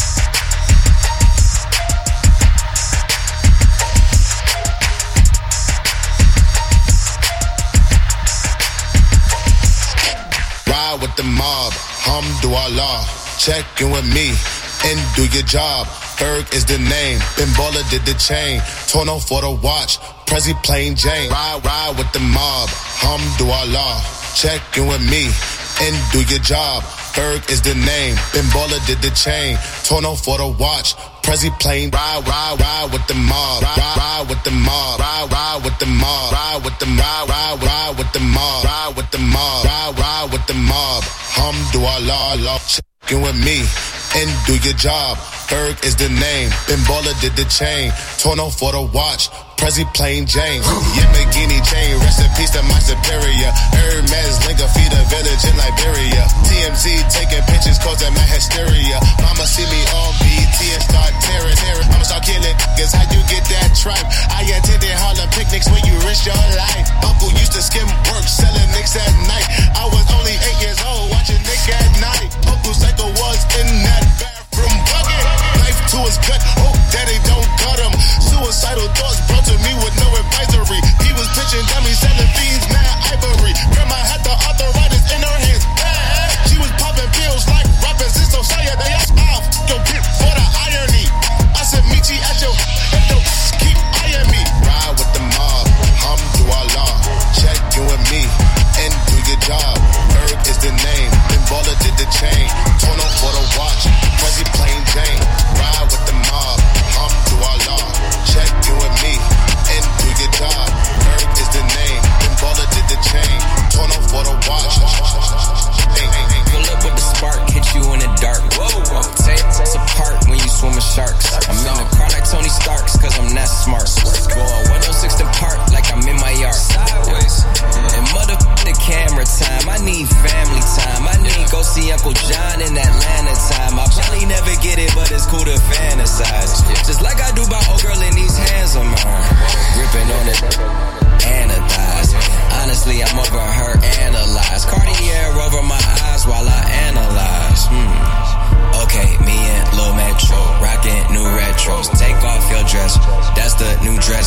Ride with the mob, Hamdulillah. Check in with me and do your job. Berg is the name, Ben Baller did the chain. Tono for the watch, Prezi plain Jane. Ride with the mob, Hamdulillah. Check in with me and do your job. Berg is the name, Ben Baller did the chain. Tono for the watch, Prezi plain. Ride with the mob. Ride with the mob. Ride with the mob. Ride with the mob. Ride with the mob. Ride with the mob. Ride with the mob. Hamdulillah. Check in with me and do your job. Berg is the name, Ben Baller did the chain. Tono for the watch, Prezi plain Jane. Yamagini chain, rest in peace to my superior. Hermes Linga feed a village in Liberia. TMZ taking pictures causing my hysteria. Mama see me on BT and start tearing. I'ma start killing niggas, how you get that tripe? I attended Harlem picnics where you risk your life. Uncle used to skim work, selling nicks at night. I was only 8 years old, watching Nick at night. Uncle Psycho was in that bathroom bucket. Knife to his gut, hope daddy don't cut him. Suicidal thoughts brought to me with no advisory. He was pitching dummies, selling fiends, mad ivory. Grandma had the arthritis in her hands, bad. She was popping pills like rappers in society. They asked off your bitch for the irony. I said, meet you at your keep eyeing me.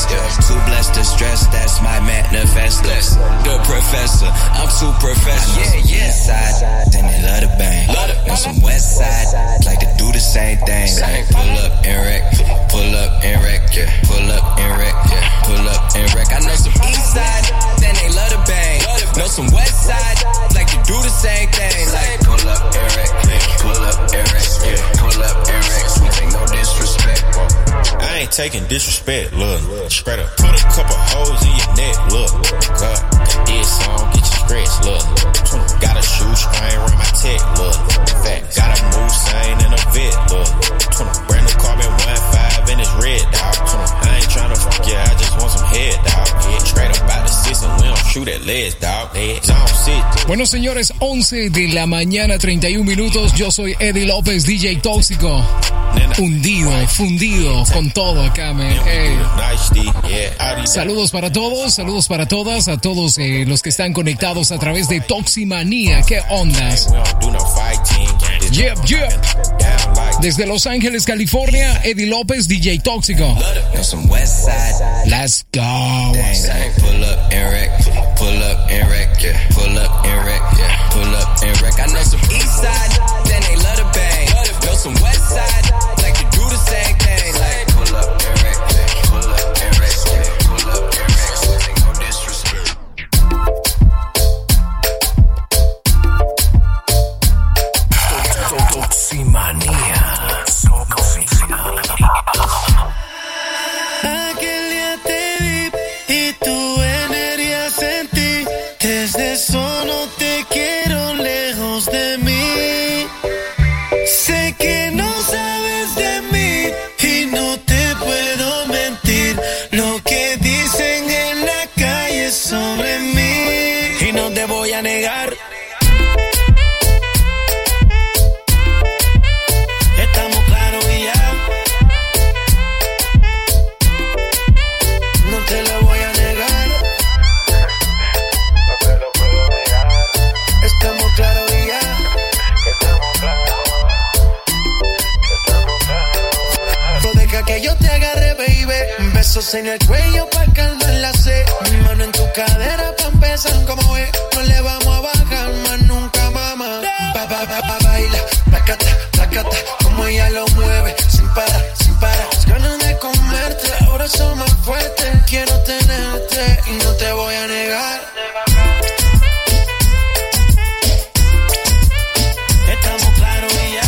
Too blessed to stress, that's my manifesto. The professor, I'm too professional. Yeah. East side, then they love the bang. On some west side, like to do the same thing. Like pull up and wreck, pull up and wreck, yeah. Pull up and wreck, yeah. Pull up and wreck. I know some east side, then they love the bang. Know some west side, like to do the same thing. Like pull up and wreck, pull up and wreck, yeah. Pull up and wreck, we take no disrespect. I ain't taking disrespect, look. Straight up, put a couple holes in your neck, look. God, this song get you stretched, look. Got a shoestring around my tech, look. Fact, got a Moussain and a vet, look. Brand new carbon 1.5 and it's red, dog. I ain't tryna fuck ya, I just want some head, dog. Straight up out the six and we don't shoot at legs, dog. Bueno, señores, 11 de la mañana, 31 minutos. Yo soy Eddie López, DJ Tóxico. Hundido, fundido con todo acá, man. Hey. Saludos para todos, saludos para todas, a todos los que están conectados a través de Toximanía. ¿Qué ondas? Yep. Desde Los Ángeles, California, Eddie López, DJ Tóxico. Let's go. Pull up and wreck, pull up and wreck, yeah. Pull up and wreck, yeah. Pull up and wreck. I know some east side, then they love the bang. Know some west side, like to do the same thing. Like pull up and wreck, yeah. Pull up and wreck, yeah. Pull up and wreck, so they no disrespect. Toximanía. Aquel día te vi y tu energía sentí. Desde eso no te quiero lejos de mí. Sé que no sabes de mí y no te puedo mentir. Lo que dicen en la calle sobre mí y no te voy a negar. Que yo te agarre, baby. Besos en el cuello pa' calmar la sed. Mi mano en tu cadera pa' empezar como es. No le vamos a bajar más nunca, mamá. Baila, placata, como ella lo mueve. Sin parar. Las ganas de comerte, ahora son más fuertes. Quiero tenerte y no te voy a negar. Estamos claros y ya.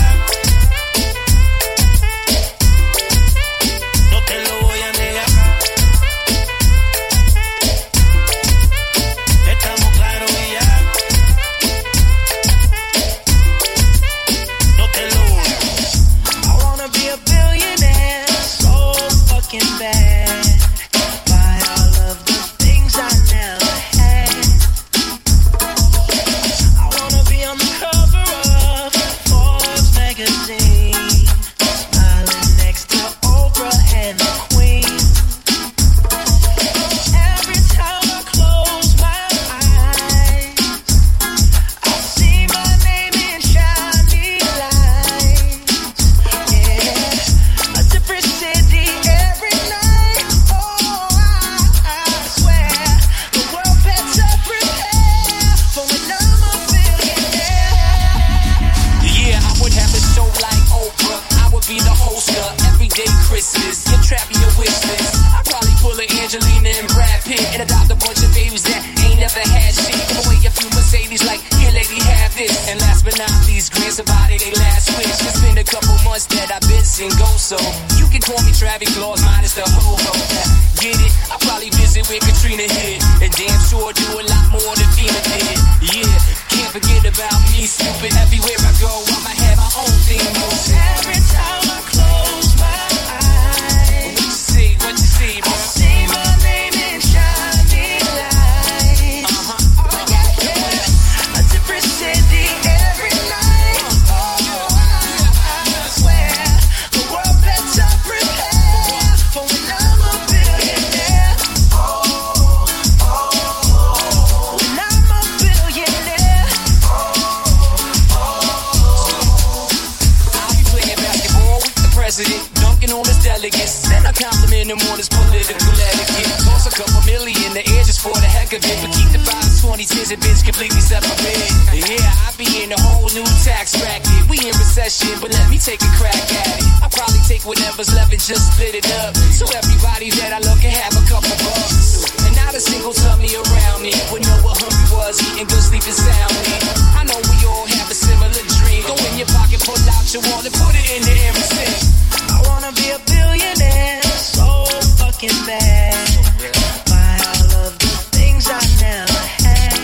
is a bitch completely separate. Yeah, I be in a whole new tax bracket. We in recession, but let me take a crack at it. I probably take whatever's left and just split it up, so everybody that I love can have a couple bucks. And not a single tummy around me would know what hungry was, eating good, sleeping soundly. I know we all have a similar dream. Go in your pocket, pull out your wallet, put it in the air and sing. I wanna be a billionaire, so fucking bad. Buy all of the things I never had.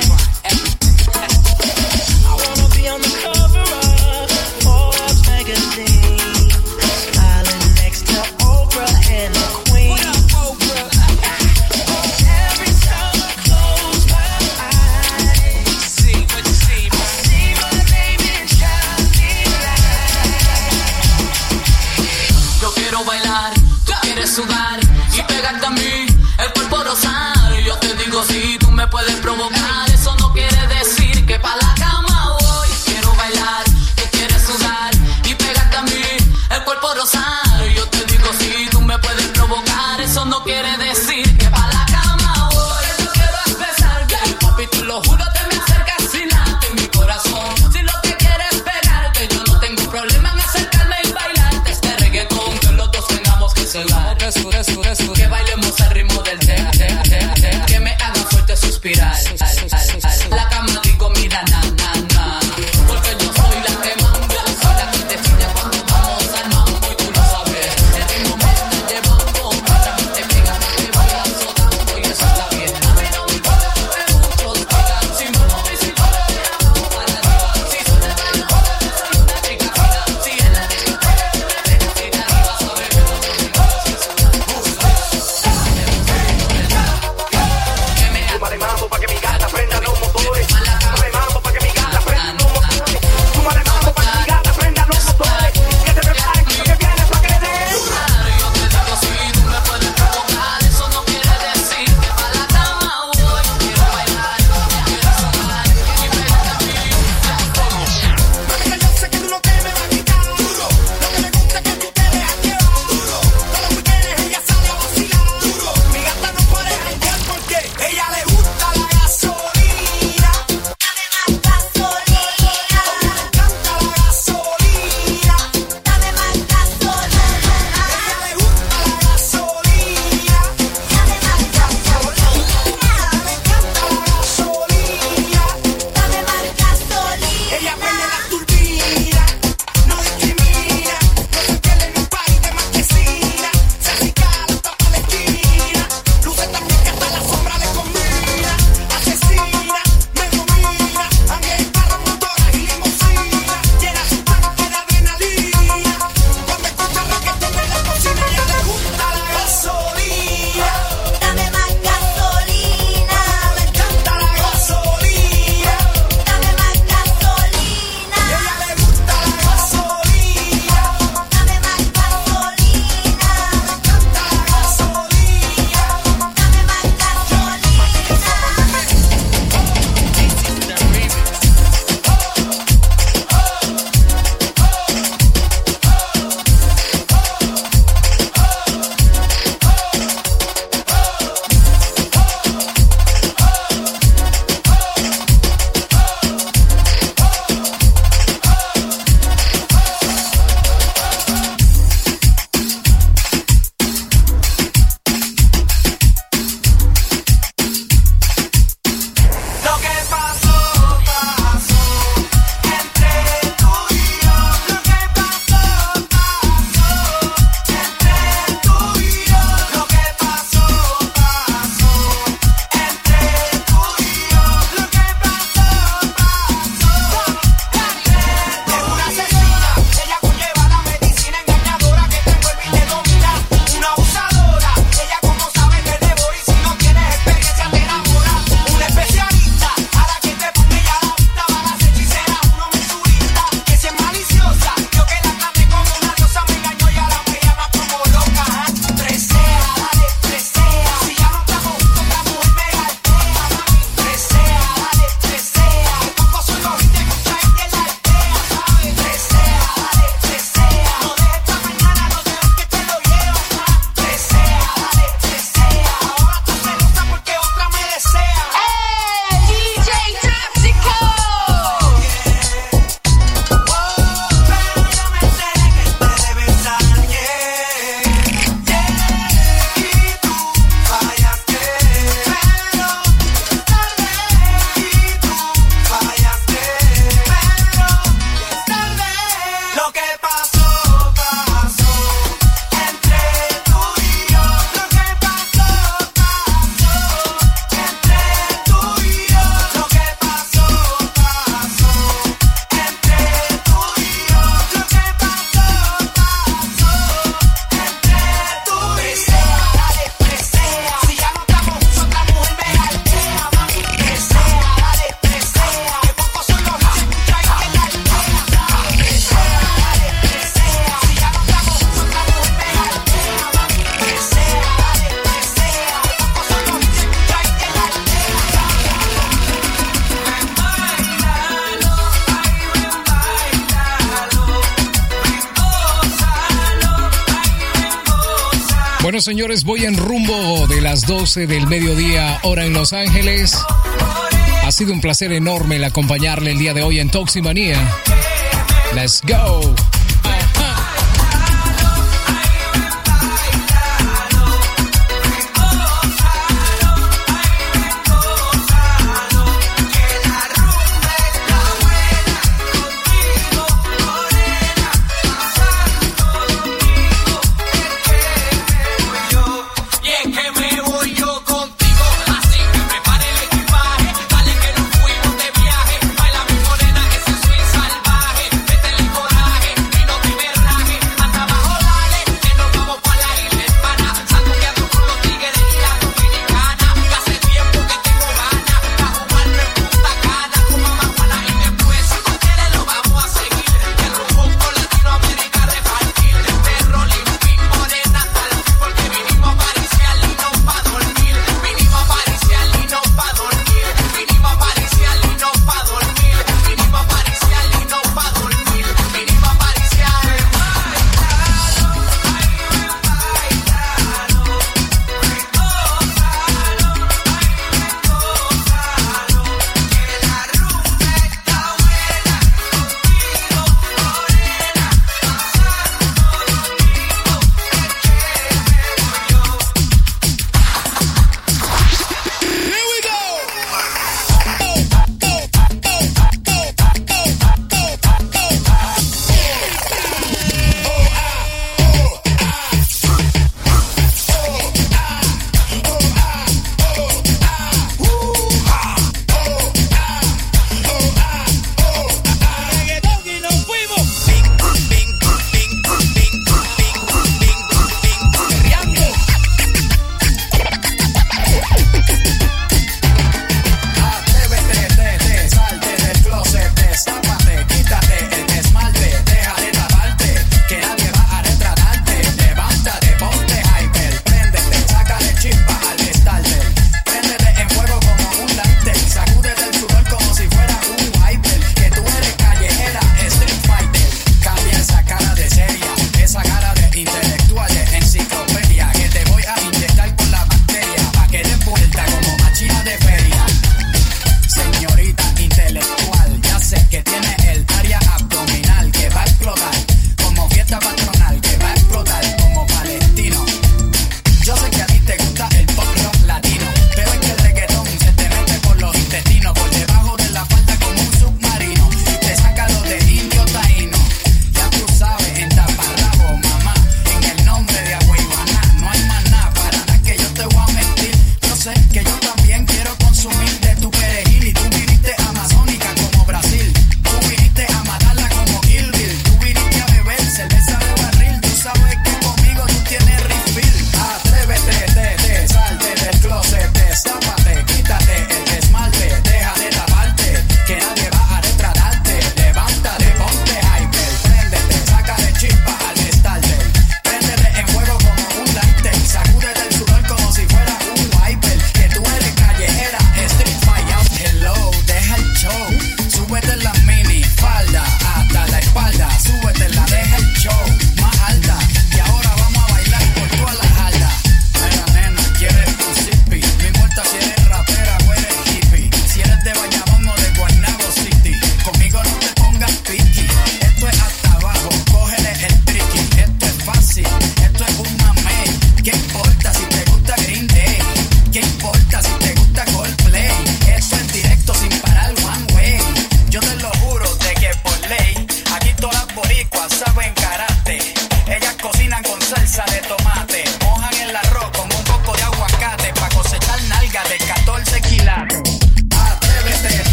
I wanna be on the cover of Forbes magazine, smiling next to Oprah and the Queen. Bueno, señores, voy en rumbo de las 12 del mediodía, hora en Los Ángeles. Ha sido un placer enorme el acompañarle el día de hoy en Toximanía. Let's go. Baila mi morena, ese swing salvaje, métele coraje.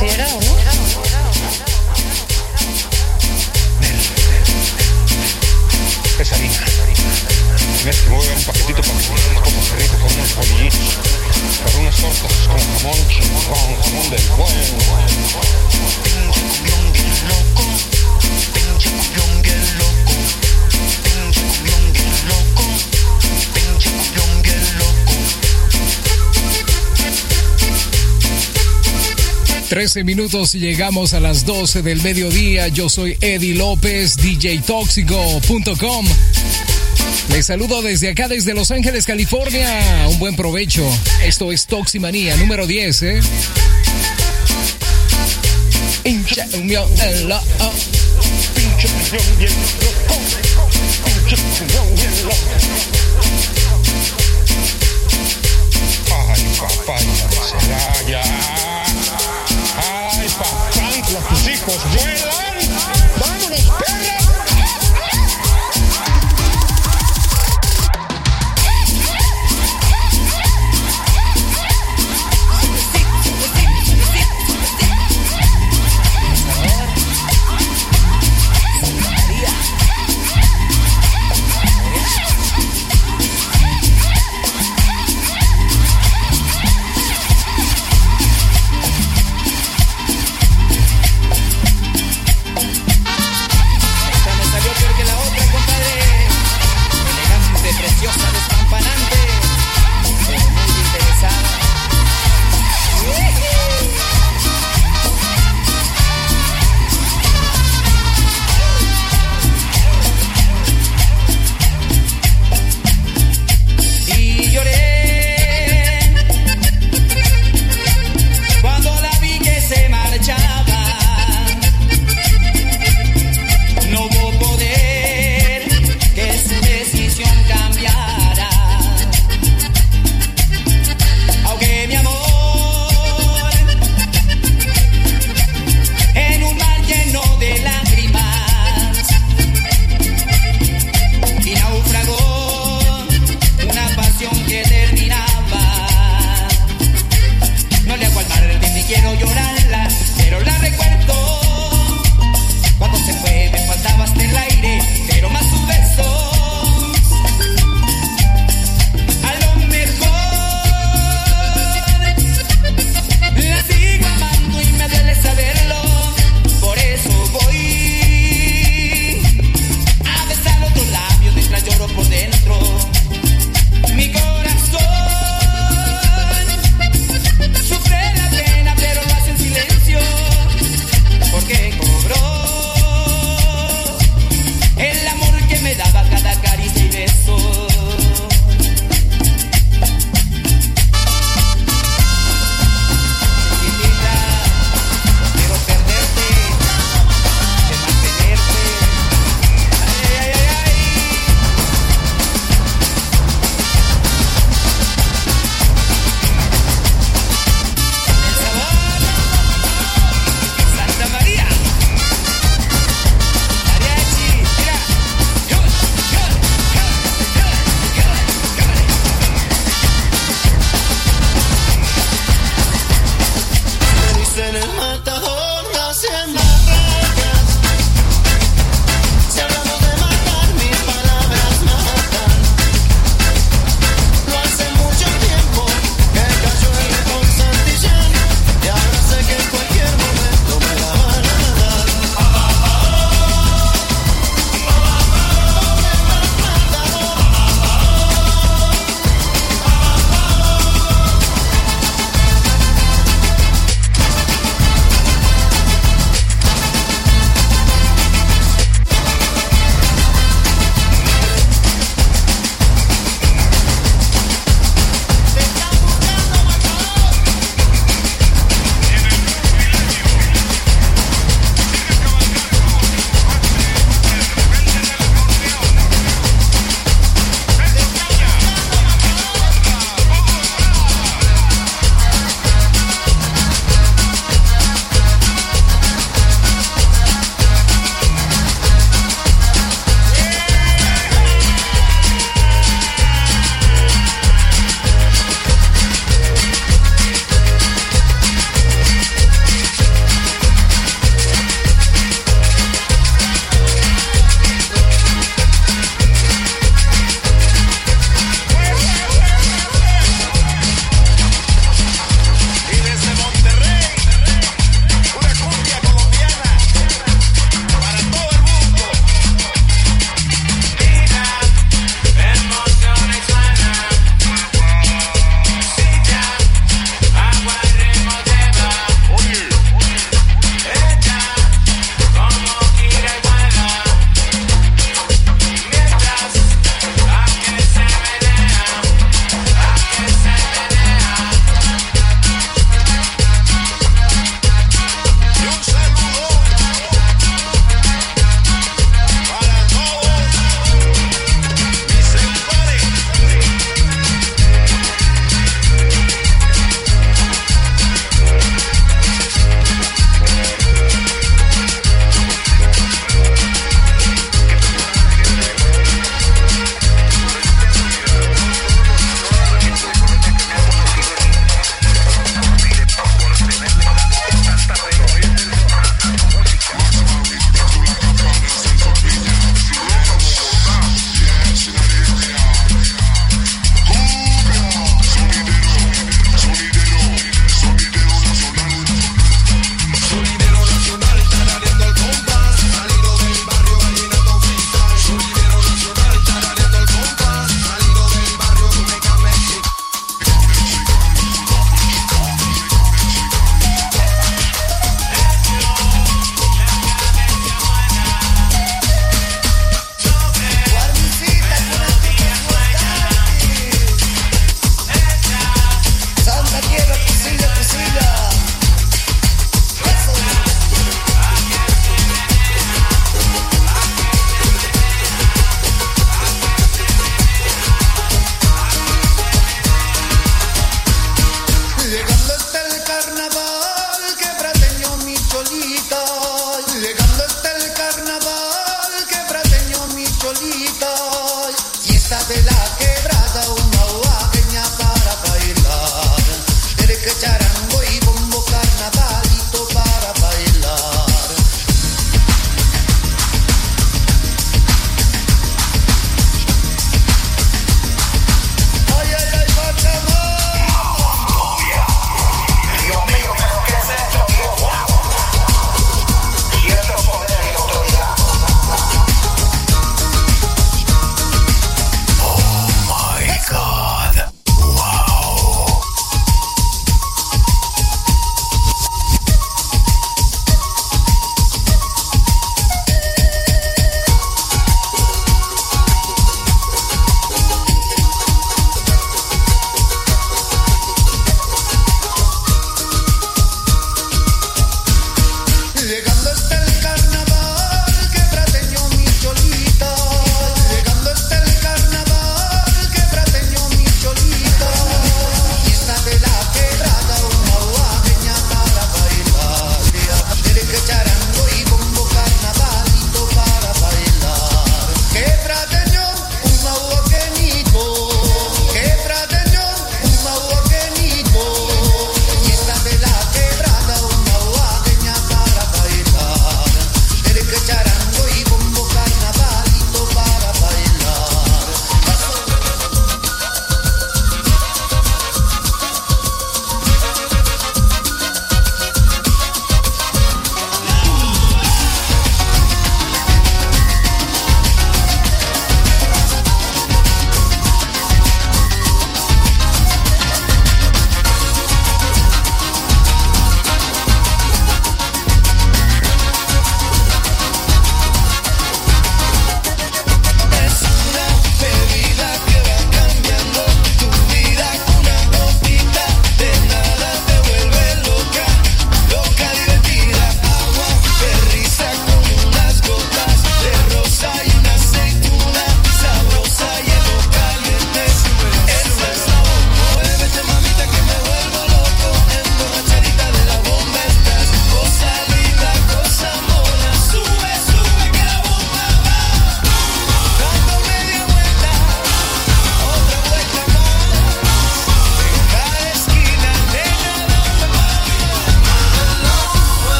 ¿Será o no? Es harina. Tienes que mover un paquetito para que unos pocos perritos con unos bolillitos. Para unas tortas con jamón chingón, jamón del bueno. Trece minutos y llegamos a las 12 del mediodía. Yo soy Eddie López, DJTóxico.com. Les saludo desde acá, desde Los Ángeles, California. Un buen provecho. Esto es Toximanía número 10, Pinche unión en la... Pinche unión bien loco. Pinche unión bien loco. Ay, papá, ya. Ay, papá, tus hijos vuelan. ¡Vámonos, perra!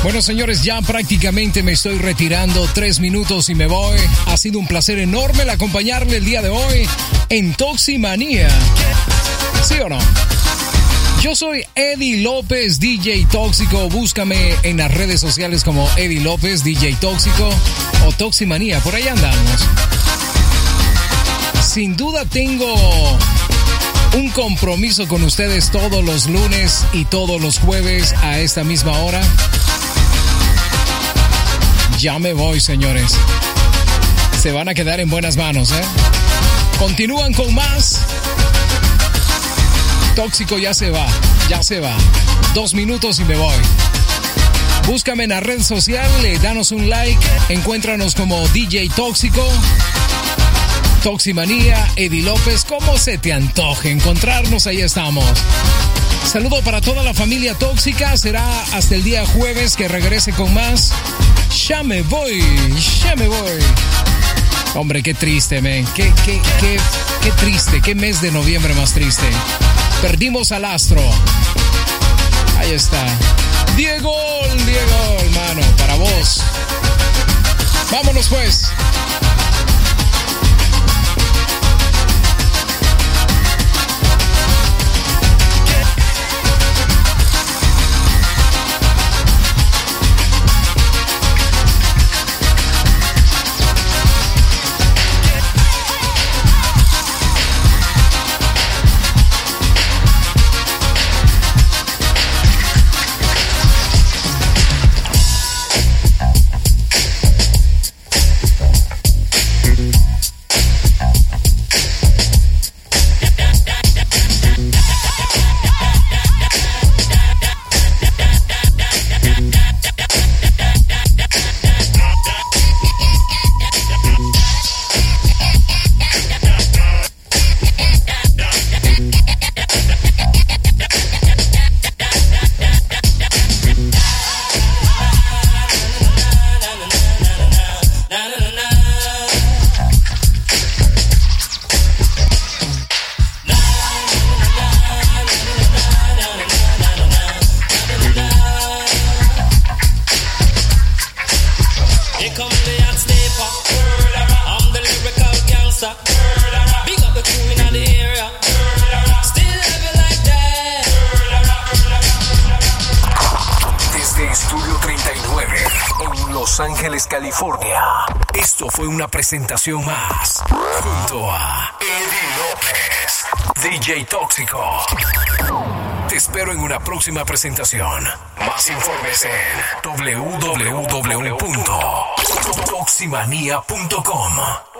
Bueno, señores, ya prácticamente me estoy retirando. 3 minutos y me voy. Ha sido un placer enorme el acompañarle el día de hoy en Toximanía. ¿Sí o no? Yo soy Eddie López, DJ Tóxico. Búscame en las redes sociales como Eddie López, DJ Tóxico o Toximanía. Por ahí andamos. Sin duda tengo un compromiso con ustedes todos los lunes y todos los jueves a esta misma hora. Ya me voy, señores. Se van a quedar en buenas manos, ¿eh? Continúan con más. Tóxico ya se va. 2 minutos y me voy. Búscame en la red social, danos un like. Encuéntranos como DJ Tóxico, Toximanía, Eddie López. Como se te antoje encontrarnos, ahí estamos. Saludo para toda la familia tóxica. Será hasta el día jueves que regrese con más. Ya me voy. Hombre, qué triste, man. Qué triste. Qué mes de noviembre más triste. Perdimos al astro. Ahí está. Diego, hermano, para vos. Vámonos pues. California. Esto fue una presentación más junto a Eddie López, DJ Tóxico. Te espero en una próxima presentación. Más informes en www.toximanía.com.